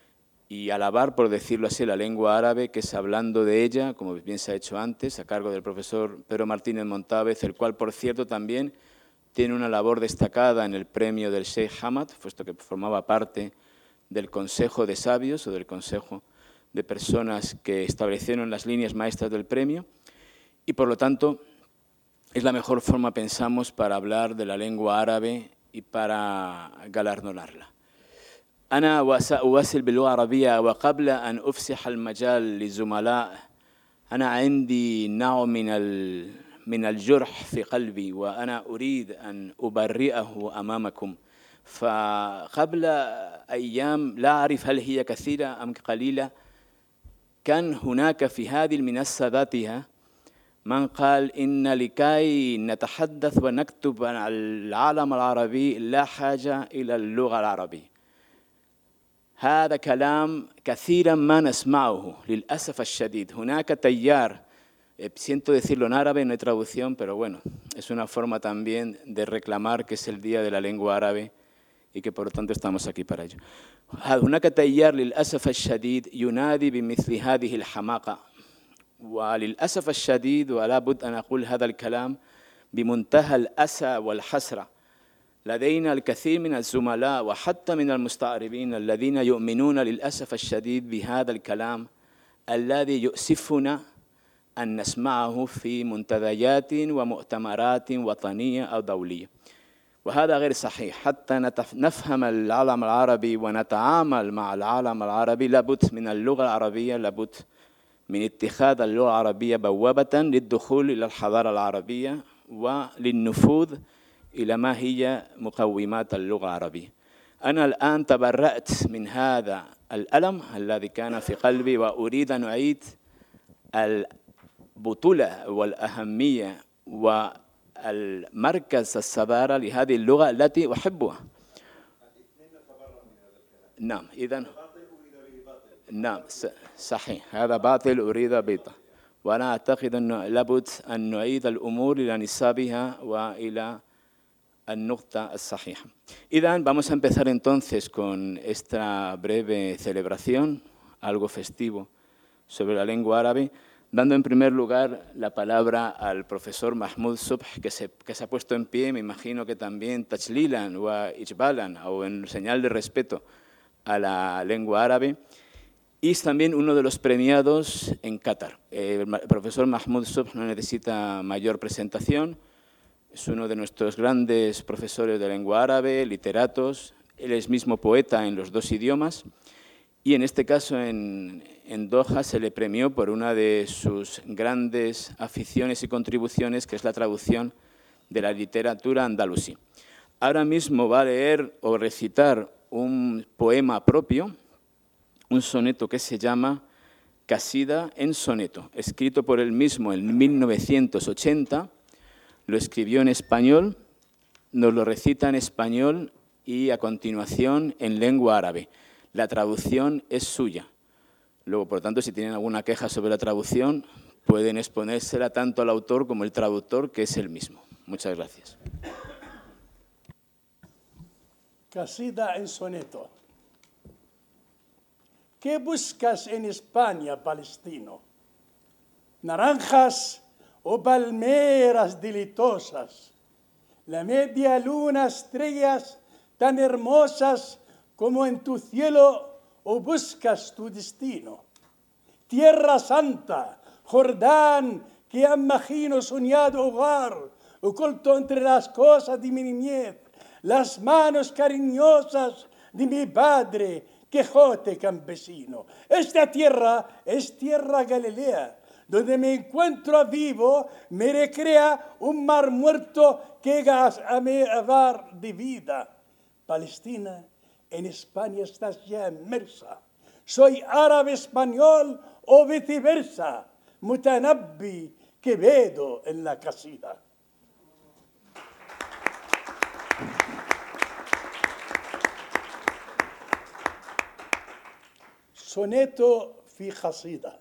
y alabar, por decirlo así, la lengua árabe, que es hablando de ella, como bien se ha hecho antes, a cargo del profesor Pedro Martínez Montávez, el cual, por cierto, también tiene una labor destacada en el premio del Sheikh Hamad, puesto que formaba parte del Consejo de Sabios o del Consejo de Personas que establecieron las líneas maestras del premio, y, por lo tanto, es la mejor forma, pensamos, para hablar de la lengua árabe y para galardonarla. أنا وسأواصل باللغة العربية، وقبل أن أفسح المجال للزملاء أنا عندي نوع من الجرح في قلبي، وأنا أريد أن أبرئه أمامكم. فقبل أيام، لا أعرف هل هي كثيرة أم قليلة، كان هناك في هذه المنصة ذاتها من قال إن لكي نتحدث ونكتب عن العالم العربي لا حاجة إلى اللغة العربية. هذا كلام كثيرا ما نسمعه للأسف الشديد. هناك تيار, siento decirlo en árabe, no hay traducción, pero bueno, es una forma también de reclamar que es el Día de la Lengua Árabe y que por lo tanto estamos aquí para ello. هناك تيار للأسف الشديد ينادي بمثل هذه الحماقة, وللأسف الشديد ولا بد أن أقول هذا الكلام بمنتهى الأسى والحسرة. لدينا الكثير من الزملاء وحتى من المستعربين الذين يؤمنون للأسف الشديد بهذا الكلام الذي يؤسفنا أن نسمعه في منتديات ومؤتمرات وطنية أو دولية. وهذا غير صحيح. حتى نفهم العالم العربي ونتعامل مع العالم العربي لابد من اللغة العربية, لابد من اتخاذ اللغة العربية بوابة للدخول إلى الحضارة العربية وللنفوذ إلى ما هي مقومات اللغة العربية. أنا الآن تبرأت من هذا الألم الذي كان في قلبي, وأريد أن أعيد البطولة والأهمية والمركز الصدارة لهذه اللغة التي أحبها. نعم, إذن نعم صحيح, هذا باطل أريد باطل, وأنا أعتقد أنه لابد أن نعيد الأمور إلى نصابها وإلى النقطة الصحيحة. إذن vamos a empezar entonces con esta breve celebración, algo festivo, sobre la lengua árabe, dando en primer lugar la palabra al profesor Mahmoud Subh, que se ha puesto en pie, me imagino que también tajlilan o ijbalan, o en señal de respeto a la lengua árabe, y es también uno de los premiados en Qatar. El profesor Mahmoud Subh no necesita mayor presentación. Es uno de nuestros grandes profesores de lengua árabe, literatos. Él es mismo poeta en los dos idiomas. Y en este caso, en Doha, se le premió por una de sus grandes aficiones y contribuciones, que es la traducción de la literatura andalusí. Ahora mismo va a leer o recitar un poema propio, un soneto que se llama Casida en soneto, escrito por él mismo en 1980. Lo escribió en español, nos lo recita en español y a continuación en lengua árabe. La traducción es suya. Luego, por tanto, si tienen alguna queja sobre la traducción, pueden exponérsela tanto al autor como el traductor, que es el mismo. Muchas gracias. Casida en soneto. ¿Qué buscas en España, palestino? Naranjas o palmeras delitosas, la media luna, estrellas tan hermosas como en tu cielo, o buscas tu destino. Tierra Santa, Jordán, que imagino soñado hogar, oculto entre las cosas de mi niñez, las manos cariñosas de mi padre, Quijote campesino. Esta tierra es tierra Galilea, donde me encuentro vivo, me recrea un mar muerto que a mi dar de vida. Palestina, en España estás ya inmersa. Soy árabe español o viceversa, Mutanabbi Quevedo en la casida. soneto في قصيدة.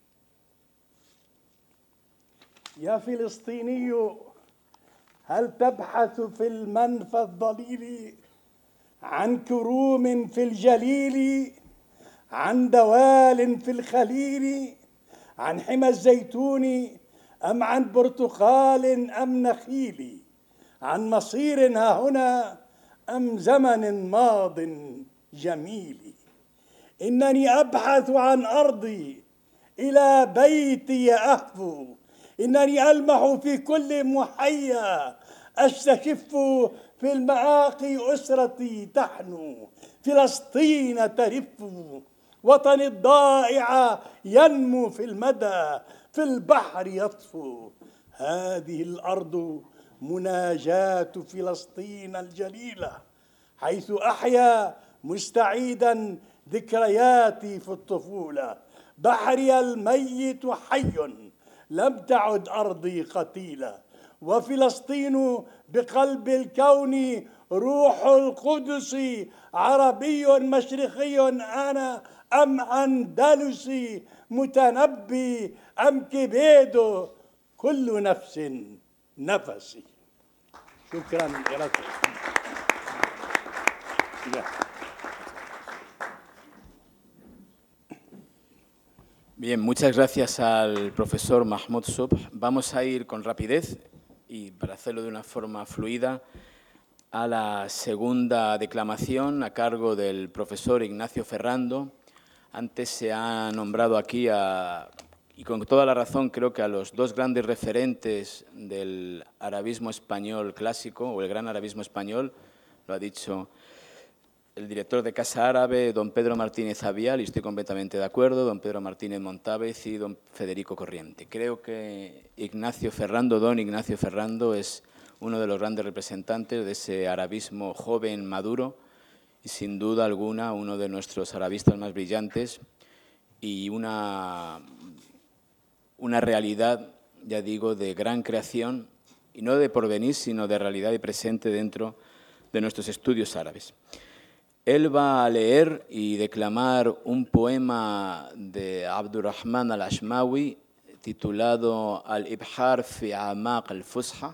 يا فلسطيني هل تبحث في المنفى الضليل عن كروم في الجليل، عن دوال في الخليل، عن حمى الزيتون أم عن برتقال أم نخيل، عن مصير ها هنا أم زمن ماض جميل؟ إنني أبحث عن أرضي إلى بيتي أهفو، إنني ألمح في كل محيا، أستشف في المآقي أسرتي تحنو، فلسطين ترف، وطني الضائع ينمو في المدى، في البحر يطفو. هذه الأرض مناجاة فلسطين الجليلة، حيث أحيا مستعيدا ذكرياتي في الطفولة. بحري الميت حي، لم تعد أرضي قتيلة، وفلسطين بقلب الكون روح القدس عربي مشرقي أنا أم أندلسي متنبي أم كبيدو كل نفس نفسي. شكرا لكم. Bien, muchas gracias al profesor Mahmoud Subh. Vamos a ir con rapidez y para hacerlo de una forma fluida a la segunda declamación a cargo del profesor Ignacio Ferrando. Antes se ha nombrado aquí, y con toda la razón, creo que a los dos grandes referentes del arabismo español clásico, o el gran arabismo español, lo ha dicho el director de Casa Árabe, don Pedro Martínez Avial, y estoy completamente de acuerdo, don Pedro Martínez Montávez y don Federico Corriente. Creo que don Ignacio Ferrando, es uno de los grandes representantes de ese arabismo joven, maduro, y sin duda alguna uno de nuestros arabistas más brillantes y una realidad, ya digo, de gran creación, y no de porvenir, sino de realidad y presente dentro de nuestros estudios árabes. Él va a leer y declamar un poema de Abdurrahman al-Ashmawi titulado Al-Ibhar fi Amaq al-Fusha,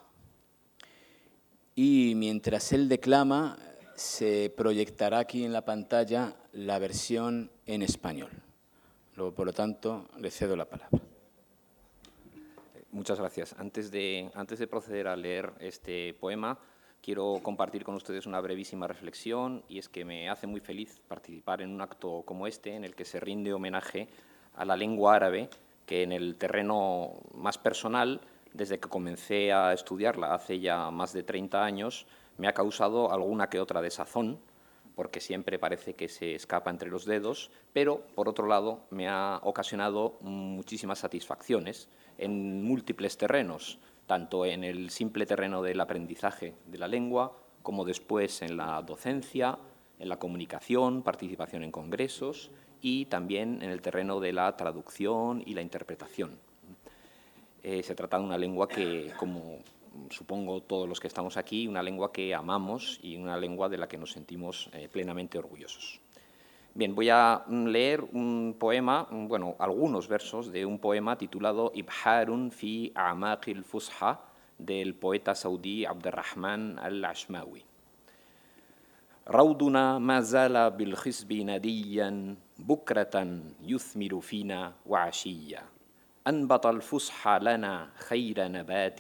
y mientras él declama se proyectará aquí en la pantalla la versión en español. Luego, por lo tanto, le cedo la palabra. Muchas gracias. Antes de proceder a leer este poema, quiero compartir con ustedes una brevísima reflexión, y es que me hace muy feliz participar en un acto como este, en el que se rinde homenaje a la lengua árabe, que en el terreno más personal, desde que comencé a estudiarla hace ya más de 30 años, me ha causado alguna que otra desazón, porque siempre parece que se escapa entre los dedos, pero, por otro lado, me ha ocasionado muchísimas satisfacciones en múltiples terrenos, tanto en el simple terreno del aprendizaje de la lengua, como después en la docencia, en la comunicación, participación en congresos y también en el terreno de la traducción y la interpretación. Se trata de una lengua que, como supongo todos los que estamos aquí, una lengua que amamos y una lengua de la que nos sentimos plenamente orgullosos. Bien, voy a leer un poema, bueno, algunos versos de un poema titulado Ibharun fi A'maq al-Fusha, del poeta saudí Abdurrahman al-Ashmawi. روضنا ما زال بالخصب نديا بكرة يثمر فينا وعشيا أنبت الفصحى لنا خير نبات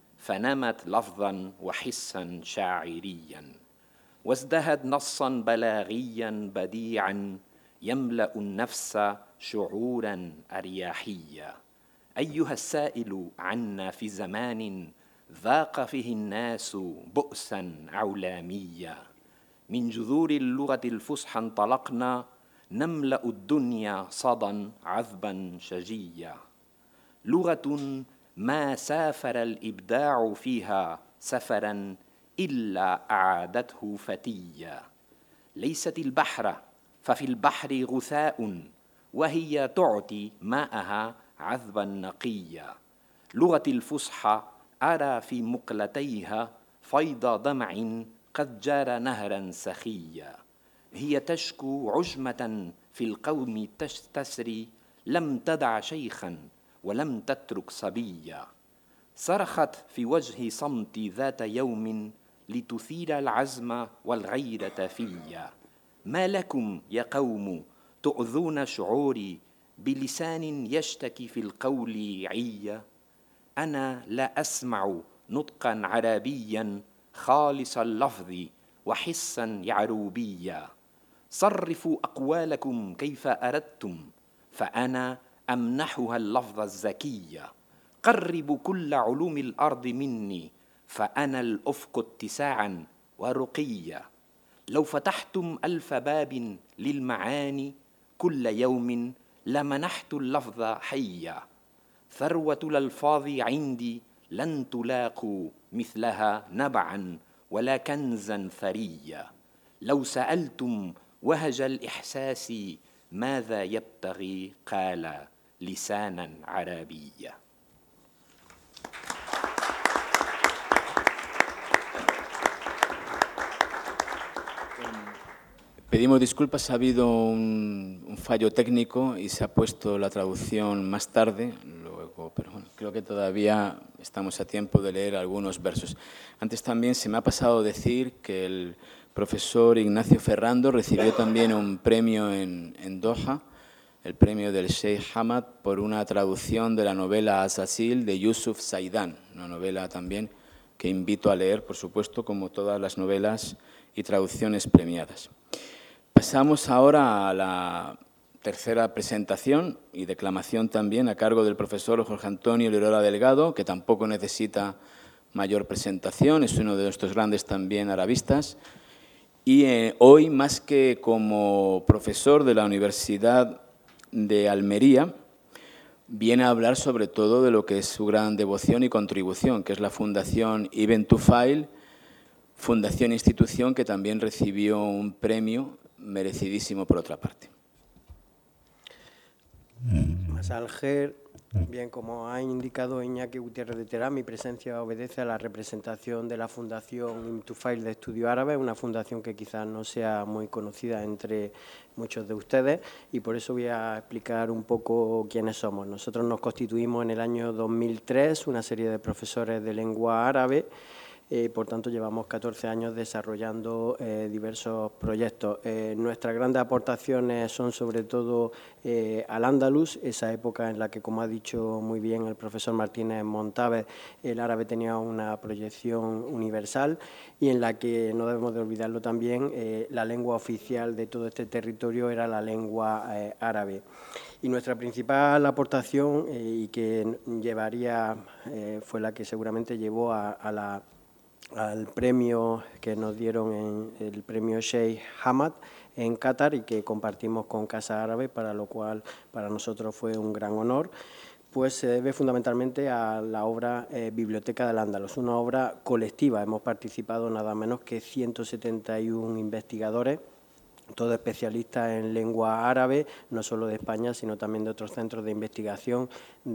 فنمت لفظا وحسا شاعريا وازدهد نصا بلاغيا بديعا يملأ النفس شعورا أرياحيا أيها السائل عنا في زمان ذاق فيه الناس بؤسا عولاميا من جذور اللغة الفصحى انطلقنا نملأ الدنيا صدى عذبا شجيا لغة ما سافر الإبداع فيها سفرا إلا أعادته فتيا ليست البحر ففي البحر غثاء وهي تعطي ماءها عذبا نقيا لغة الفصحى أرى في مقلتيها فيض دمع قد جار نهرا سخيا هي تشكو عجمة في القوم تسري لم تدع شيخا ولم تترك صبيا صرخت في وجه صمتي ذات يوم لتثير العزم والغيرة فيا ما لكم يا قوم تؤذون شعوري بلسان يشتكي في القول عيا أنا لا أسمع نطقا عربيا خالص اللفظ وحسا يعروبيا صرفوا أقوالكم كيف أردتم فأنا أمنحها اللفظ الزكي قربوا كل علوم الأرض مني فأنا الأفق اتساعا ورقيا لو فتحتم ألف باب للمعاني كل يوم لمنحت اللفظ حيا ثروة الألفاظ عندي لن تلاقوا مثلها نبعا ولا كنزا ثريا لو سألتم وهج الإحساس ماذا يبتغي قال لسانا عربيا. Pedimos disculpas, ha habido un fallo técnico y se ha puesto la traducción más tarde, luego, pero bueno, creo que todavía estamos a tiempo de leer algunos versos. Antes también se me ha pasado decir que el profesor Ignacio Ferrando recibió también un premio en Doha, el premio del Sheikh Hamad, por una traducción de la novela Azasil de Yusuf Zaidan, una novela también que invito a leer, por supuesto, como todas las novelas y traducciones premiadas. Pasamos ahora a la tercera presentación y declamación también a cargo del profesor Jorge Antonio Lirola Delgado, que tampoco necesita mayor presentación, es uno de nuestros grandes también arabistas. Y hoy, más que como profesor de la Universidad de Almería, viene a hablar sobre todo de lo que es su gran devoción y contribución, que es la Fundación Ibn Tufail, fundación e institución que también recibió un premio merecidísimo por otra parte. Masá al-Khair, bien, como ha indicado Iñaki Gutiérrez de Terán, mi presencia obedece a la representación de la Fundación Ibn Tufail de Estudio Árabe, una fundación que quizás no sea muy conocida entre muchos de ustedes, y por eso voy a explicar un poco quiénes somos. Nosotros nos constituimos en el año 2003, una serie de profesores de lengua árabe. Por tanto, llevamos 14 años desarrollando diversos proyectos. Nuestras grandes aportaciones son sobre todo al Andalus, esa época en la que, como ha dicho muy bien el profesor Martínez Montávez, el árabe tenía una proyección universal y en la que, no debemos de olvidarlo también, la lengua oficial de todo este territorio era la lengua árabe. Y nuestra principal aportación, y que llevaría, fue la que seguramente llevó al premio que nos dieron en el premio Sheikh Hamad en Qatar y que compartimos con Casa Árabe, para lo cual para nosotros fue un gran honor, pues se debe fundamentalmente a la obra Biblioteca del Andalus, una obra colectiva. Hemos participado nada menos que 171 investigadores, todos especialistas en lengua árabe, no solo de España, sino también de otros centros de investigación,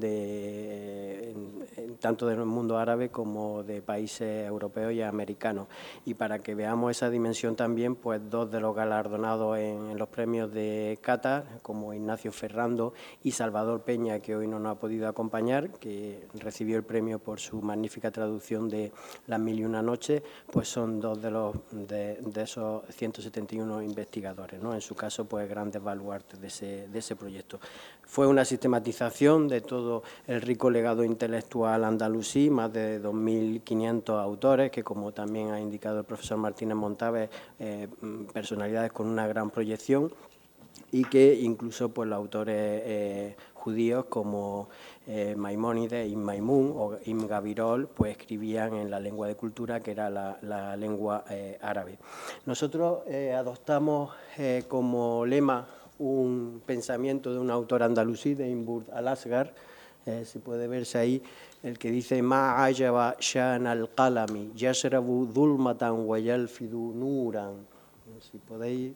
tanto del mundo árabe como de países europeos y americanos. Y para que veamos esa dimensión también, pues dos de los galardonados en los premios de Qatar, como Ignacio Ferrando y Salvador Peña, que hoy no nos ha podido acompañar, que recibió el premio por su magnífica traducción de Las Mil y una Noches, pues son dos de esos 171 investigadores, ¿no? En su caso, pues grandes baluartes de ese proyecto. Fue una sistematización de todo el rico legado intelectual andalusí, más de 2.500 autores, que como también ha indicado el profesor Martínez Montávez, personalidades con una gran proyección, y que incluso pues los autores judíos como Maimónides, Ibn Maimun o Ibn Gabirol, pues escribían en la lengua de cultura, que era la lengua árabe. Nosotros adoptamos como lema un pensamiento de un autor andalusí, de Ibn Burd al-Asghar, se puede verse ahí, el que dice: Ma ayaba shan al-qalami, yashrabu dhulmatan wa yalfidu nuran. Si podéis,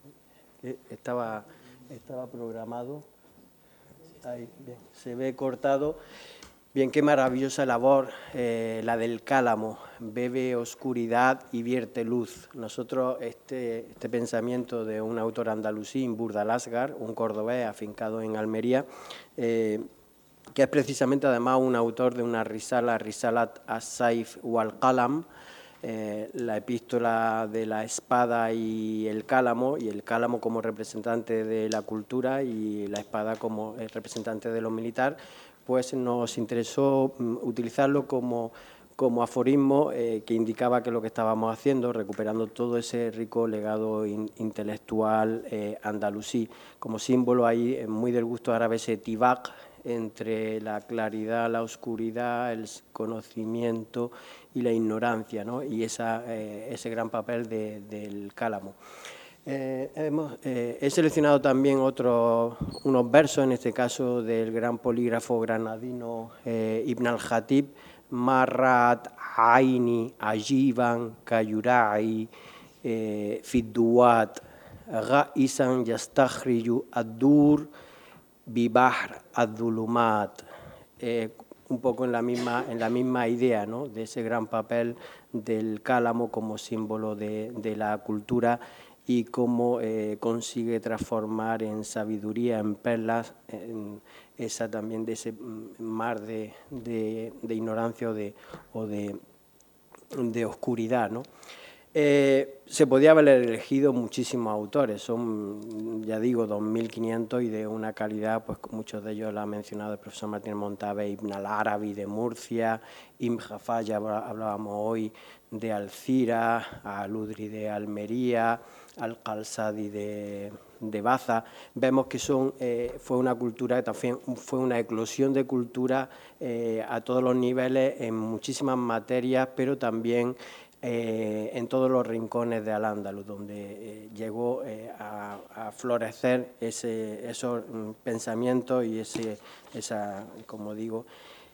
estaba programado. Ahí, bien, se ve cortado. Bien, qué maravillosa labor la del cálamo, bebe oscuridad y vierte luz. Nosotros este pensamiento de un autor andalusí, Ibn Burd al-Asghar, un cordobés afincado en Almería, que es precisamente además un autor de una risala, Risalat as-Saif wal-Qalam, la epístola de la espada y el cálamo como representante de la cultura y la espada como representante de lo militar, pues nos interesó utilizarlo como aforismo que indicaba que lo que estábamos haciendo, recuperando todo ese rico legado intelectual andalusí. Como símbolo ahí, muy del gusto árabe, ese tibaq, entre la claridad, la oscuridad, el conocimiento y la ignorancia, ¿no? Y ese gran papel del cálamo. He seleccionado también unos versos, en este caso del gran polígrafo granadino Ibn al-Khatib: Marrat aini ajiban kayurai fidduat ga'isan yastakhriju ad-dur bibahr ad-dhulumat. Un poco en la misma idea, ¿no?, de ese gran papel del cálamo como símbolo de la cultura y cómo consigue transformar en sabiduría, en perlas, en esa también de ese mar de ignorancia o de oscuridad, ¿no? Se podía haber elegido muchísimos autores, son, ya digo, 2.500 y de una calidad, pues muchos de ellos lo ha mencionado el profesor Martínez Montabe, Ibn al-Arabi de Murcia, Ibn Jafar, ya hablábamos hoy de Alcira, Al-Udri de Almería, Al-Qalsadi de Baza. Vemos que fue una cultura que también fue una eclosión de cultura a todos los niveles, en muchísimas materias, pero también en todos los rincones de Al-Ándalus, donde llegó a florecer esos pensamientos y esa, como digo,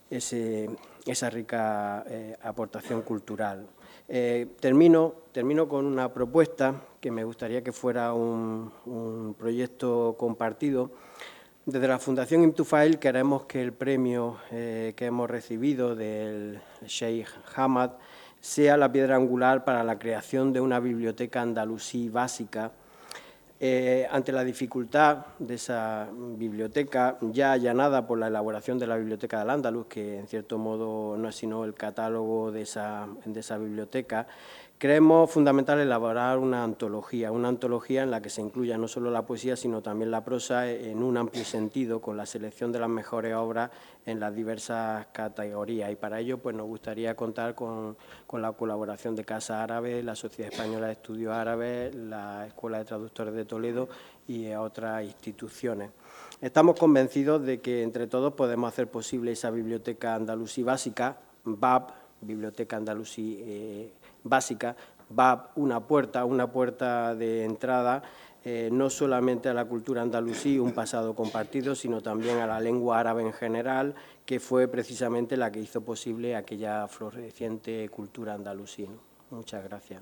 esa rica aportación cultural. Termino con una propuesta que me gustaría que fuera un proyecto compartido. Desde la Fundación Ibn Tufail queremos que el premio que hemos recibido del Sheikh Hamad sea la piedra angular para la creación de una biblioteca andalusí básica. Ante la dificultad de esa biblioteca, ya allanada por la elaboración de la Biblioteca de Al-Ándalus, que en cierto modo no es sino el catálogo de esa biblioteca, creemos fundamental elaborar una antología en la que se incluya no solo la poesía, sino también la prosa en un amplio sentido, con la selección de las mejores obras en las diversas categorías. Y para ello pues, nos gustaría contar con la colaboración de Casa Árabe, la Sociedad Española de Estudios Árabes, la Escuela de Traductores de Toledo y otras instituciones. Estamos convencidos de que entre todos podemos hacer posible esa biblioteca andalusí básica, BAB, Biblioteca Andalusí básica, BAB, una puerta de entrada no solamente a la cultura andalusí, un pasado compartido, sino también a la lengua árabe en general, que fue precisamente la que hizo posible aquella floreciente cultura andalusí, ¿no? Muchas gracias.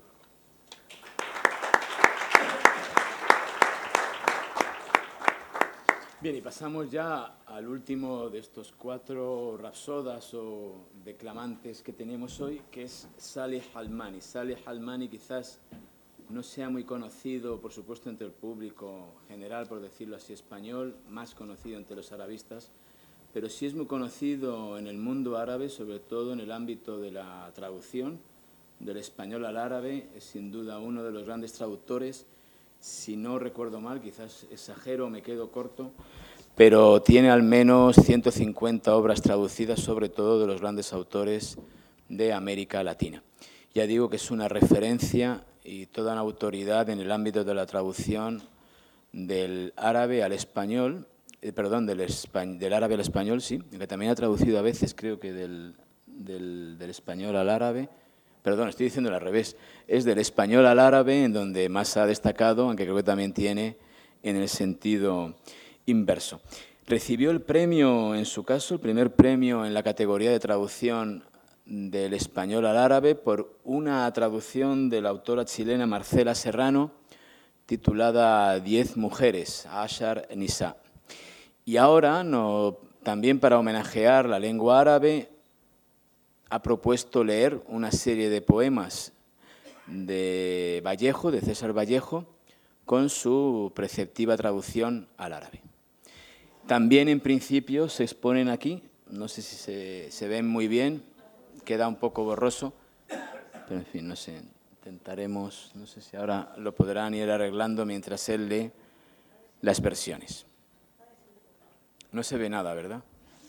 Bien, y pasamos ya al último de estos 4 rapsodas o declamantes que tenemos hoy, que es Salih Almani. Salih Almani quizás no sea muy conocido, por supuesto, entre el público general, por decirlo así, español, más conocido entre los arabistas, pero sí es muy conocido en el mundo árabe, sobre todo en el ámbito de la traducción del español al árabe. Es sin duda uno de los grandes traductores. Si no recuerdo mal, quizás exagero, me quedo corto, pero tiene al menos 150 obras traducidas, sobre todo de los grandes autores de América Latina. Ya digo que es una referencia y toda una autoridad en el ámbito de la traducción del árabe al español, del árabe al español, sí, que también ha traducido a veces, creo que del español al árabe. Perdón, estoy diciendo al revés, es del español al árabe en donde más ha destacado, aunque creo que también tiene en el sentido inverso. Recibió el premio, en su caso, el primer premio en la categoría de traducción del español al árabe por una traducción de la autora chilena Marcela Serrano titulada 10 mujeres, Ashar Nisa. Y ahora, también para homenajear la lengua árabe, ha propuesto leer una serie de poemas de Vallejo, de César Vallejo, con su preceptiva traducción al árabe. También, en principio, se exponen aquí, no sé si se ven muy bien, queda un poco borroso, pero en fin, no sé, intentaremos, no sé si ahora lo podrán ir arreglando mientras él lee las versiones. No se ve nada, ¿verdad?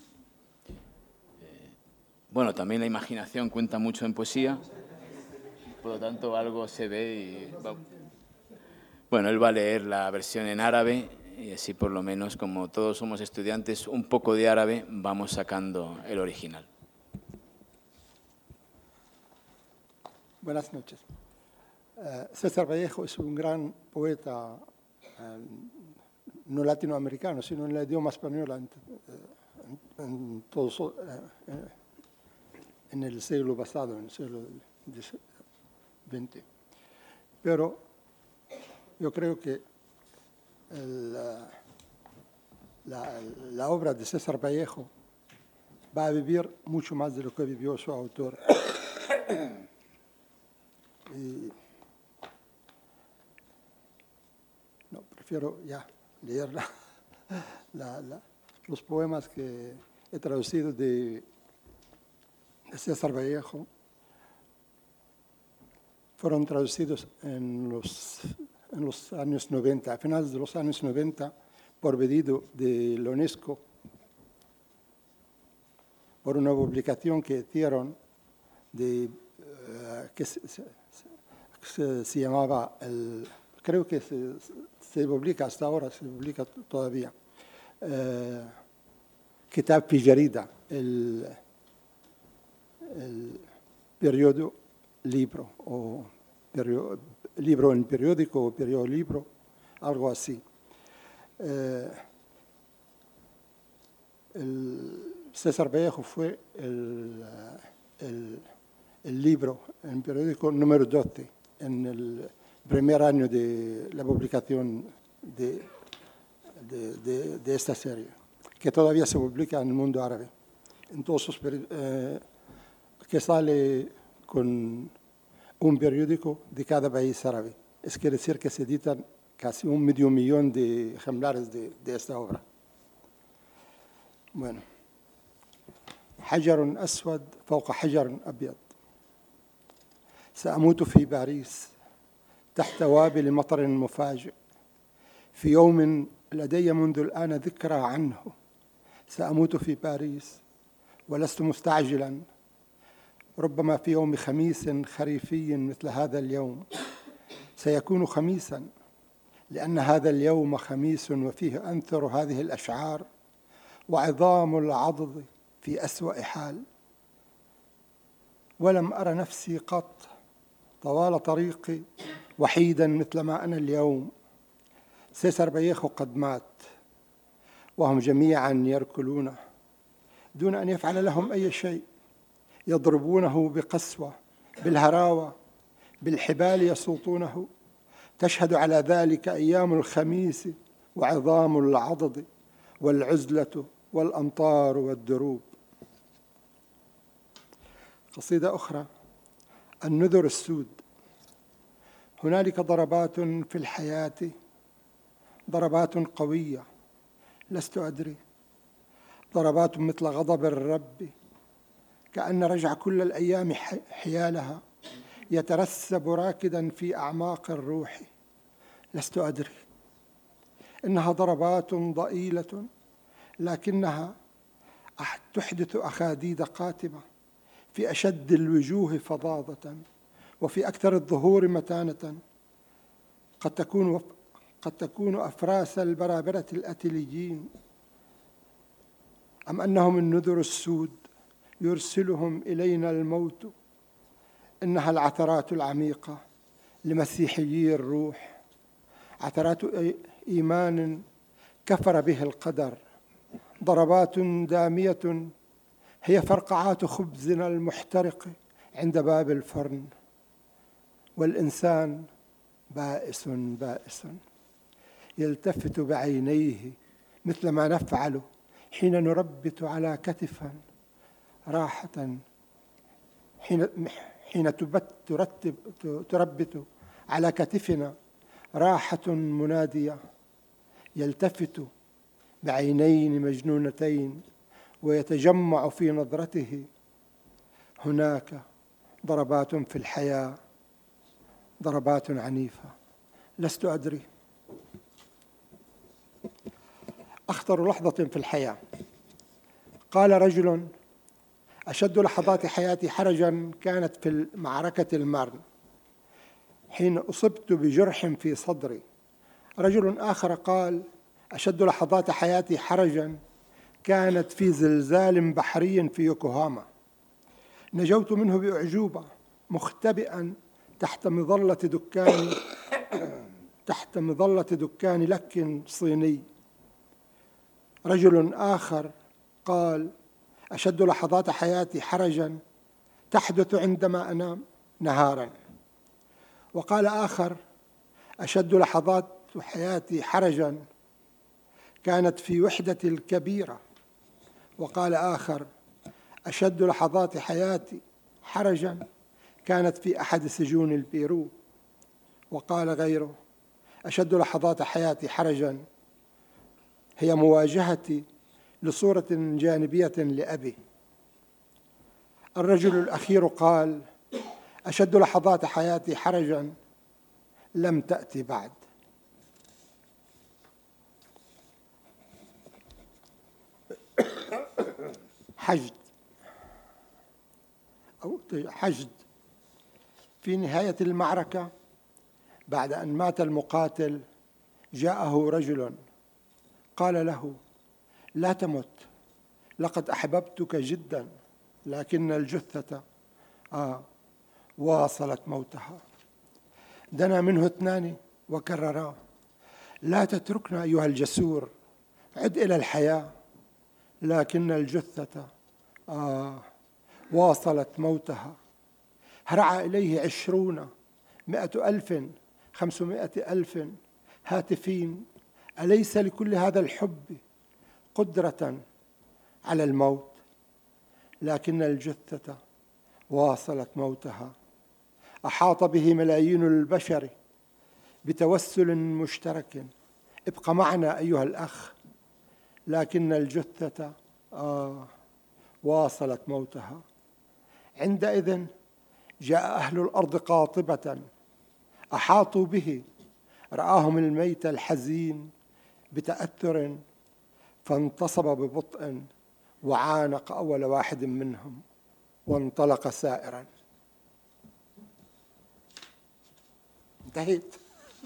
Bueno, también la imaginación cuenta mucho en poesía, por lo tanto algo se ve y... Bueno, él va a leer la versión en árabe y así por lo menos, como todos somos estudiantes, un poco de árabe vamos sacando el original. Buenas noches. César Vallejo es un gran poeta no latinoamericano, sino en el idioma español en el siglo pasado, en el siglo XX. Pero yo creo que la obra de César Vallejo va a vivir mucho más de lo que vivió su autor. prefiero ya leer los poemas que he traducido de César Vallejo. Fueron traducidos en los años 90, a finales de los años 90, por pedido de la UNESCO, por una publicación que hicieron que se llamaba, creo que se publica hasta ahora, se publica todavía, Kitab fi Jarida, el periodo libro, o libro en periódico, o periodo libro, algo así. César Vallejo fue el libro en periódico número 12 en el primer año de la publicación de esta serie, que todavía se publica en el mundo árabe. Entonces, que sale con un periódico de cada país árabe. Es quiere decir que se editan casi 500,000 de ejemplares de esta obra. Bueno. حجر أسود فوق حجر أبيض. سأموت في باريس تحت وابل مطر مفاجئ في يوم لدي منذ الآن ذكرى عنه. سأموت في باريس ولست مستعجلا، ربما في يوم خميس خريفي مثل هذا اليوم. سيكون خميسا لأن هذا اليوم خميس وفيه أنثر هذه الأشعار وعظام العضد في أسوأ حال. ولم أر نفسي قط طوال طريقي وحيدا مثل ما أنا اليوم. سيسار فاليخو قد مات وهم جميعا يركلونه دون أن يفعل لهم أي شيء، يضربونه بقسوة، بالهراوة، بالحبال يسوطونه. تشهد على ذلك أيام الخميس وعظام العضد والعزلة والأمطار والدروب. قصيدة أخرى، النذر السود. هنالك ضربات في الحياة، ضربات قوية لست أدري، ضربات مثل غضب الرب كأن رجع كل الأيام حيالها يترسب راكدا في أعماق الروح. لست أدري، إنها ضربات ضئيلة لكنها تحدث أخاديد قاتمة في أشد الوجوه فظاظة وفي أكثر الظهور متانة. قد تكون أفراس البرابرة الأتليين، أم أنهم النذر السود يرسلهم إلينا الموت. إنها العثرات العميقة لمسيحيي الروح، عثرات إيمان كفر به القدر، ضربات دامية هي فرقعات خبزنا المحترق عند باب الفرن. والإنسان بائس بائس يلتفت بعينيه مثل ما نفعل حين نربت على كتفا راحة، حين تربت على كتفنا راحة منادية. يلتفت بعينين مجنونتين ويتجمع في نظرته. هناك ضربات في الحياة، ضربات عنيفة لست أدري. أخطر لحظة في الحياة. قال رجل: أشد لحظات حياتي حرجا كانت في معركة المارن حين أصبت بجرح في صدري. رجل آخر قال: أشد لحظات حياتي حرجا كانت في زلزال بحري في يوكوهاما، نجوت منه بأعجوبة مختبئا تحت مظلة دكان لك صيني. رجل آخر قال: أشد لحظات حياتي حرجا تحدث عندما أنام نهارا. وقال آخر: أشد لحظات حياتي حرجا كانت في وحدتي الكبيرة. وقال آخر: أشد لحظات حياتي حرجا كانت في أحد سجون البيرو. وقال غيره: أشد لحظات حياتي حرجا هي مواجهتي لصورة جانبية لأبي. الرجل الأخير قال: أشد لحظات حياتي حرجا لم تأتي بعد. حشد في نهاية المعركة بعد أن مات المقاتل جاءه رجل قال له: لا تمت، لقد أحببتك جدا، لكن الجثة واصلت موتها. دنا منه اثنان وكررا: لا تتركنا أيها الجسور، عد إلى الحياة، لكن الجثة واصلت موتها. هرع إليه 20 100 ألف 500 ألف هاتفين: أليس لكل هذا الحب قدرة على الموت؟ لكن الجثة واصلت موتها. أحاط به ملايين البشر بتوسل مشترك: ابق معنا أيها الأخ، لكن الجثة واصلت موتها. عندئذ جاء أهل الأرض قاطبة، أحاطوا به، رآهم الميت الحزين بتأثر، فانتصب ببطء وعانق أول واحد منهم وانطلق سائرا. انتهيت.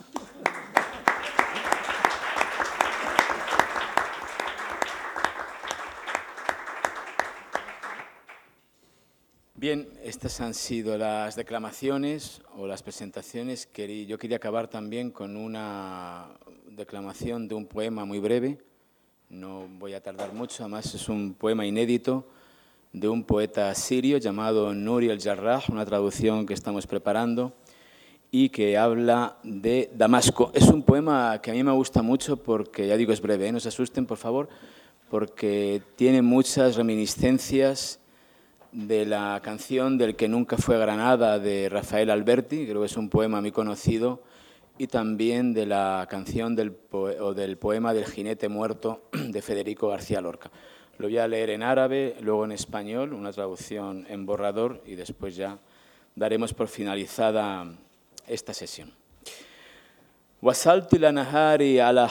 Bien, estas han sido las declamaciones o las presentaciones. Yo quería acabar también con una declamación de un poema muy breve. No voy a tardar mucho, además es un poema inédito de un poeta sirio llamado Nuri el-Jarrah, una traducción que estamos preparando y que habla de Damasco. Es un poema que a mí me gusta mucho porque, ya digo, es breve, no se asusten, por favor, porque tiene muchas reminiscencias de la canción del que nunca fue Granada de Rafael Alberti, creo que es un poema muy conocido, y también de la canción del poema del jinete muerto de Federico García Lorca. Lo voy a leer en árabe, luego en español, una traducción en borrador, y después ya daremos por finalizada esta sesión. وصلت إلى نهاري على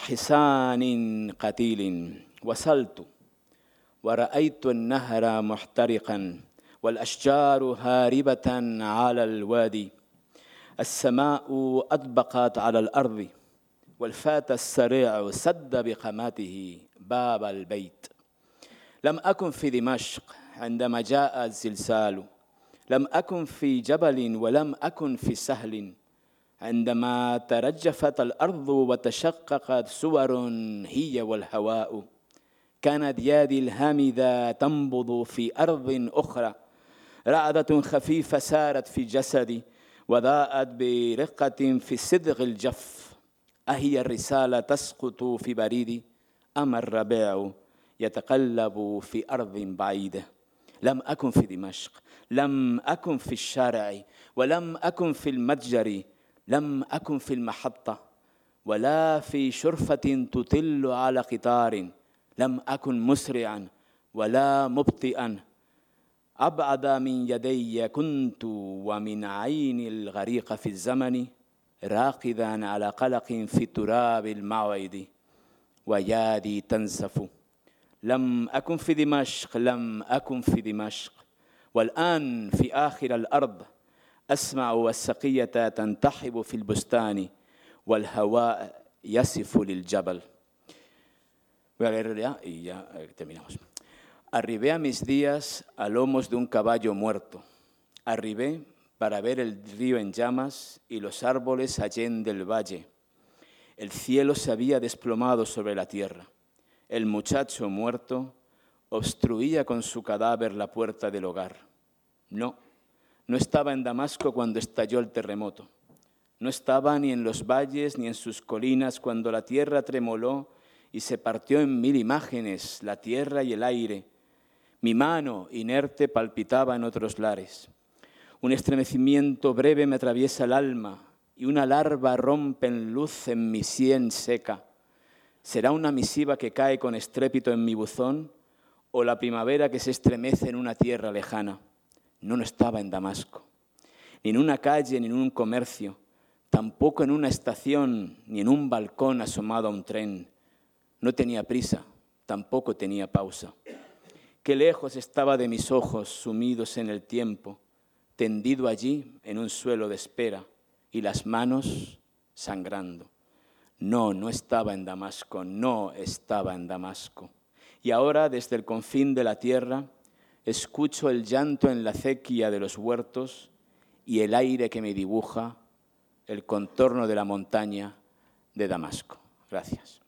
حصان قتيل، وصلت ورأيت النهر محترقا والأشجار هاربة على الوادي، السماء أطبقت على الأرض والفتى السريع سد بقامته باب البيت. لم أكن في دمشق عندما جاء الزلزال، لم أكن في جبل ولم أكن في سهل، عندما ترجفت الأرض وتشققت سور هي والهواء، كانت يدي الهامدة تنبض في أرض أخرى، رعدة خفيفة سارت في جسدي وضاءت برقة في صدغ الجف. أهي الرسالة تسقط في بريدي أم الربيع يتقلب في أرض بعيدة؟ لم أكن في دمشق، لم أكن في الشارع، ولم أكن في المتجر، لم أكن في المحطة، ولا في شرفة تطل على قطار، لم أكن مسرعا ولا مبطئا، أبعد من يدي كنت ومن عيني الغريقة في الزمن، راقدا على قلق في تراب الموعد ويادي تنزف. لم أكن في دمشق، لم أكن في دمشق، والآن في آخر الأرض أسمع والسقية تنتحب في البستان والهواء يصف للجبل. Voy a leer ya y ya terminamos. Arribé a mis días a lomos de un caballo muerto. Arribé para ver el río en llamas y los árboles allende del valle. El cielo se había desplomado sobre la tierra. El muchacho muerto obstruía con su cadáver la puerta del hogar. No estaba en Damasco cuando estalló el terremoto. No estaba ni en los valles ni en sus colinas cuando la tierra tremoló y se partió en 1000 imágenes, la tierra y el aire. Mi mano inerte palpitaba en otros lares. Un estremecimiento breve me atraviesa el alma y una larva rompe en luz en mi sien seca. ¿Será una misiva que cae con estrépito en mi buzón o la primavera que se estremece en una tierra lejana? No estaba en Damasco, ni en una calle, ni en un comercio, tampoco en una estación, ni en un balcón asomado a un tren. No tenía prisa, tampoco tenía pausa. Qué lejos estaba de mis ojos sumidos en el tiempo, tendido allí en un suelo de espera y las manos sangrando. No estaba en Damasco, no estaba en Damasco. Y ahora, desde el confín de la tierra, escucho el llanto en la acequia de los huertos y el aire que me dibuja el contorno de la montaña de Damasco. Gracias.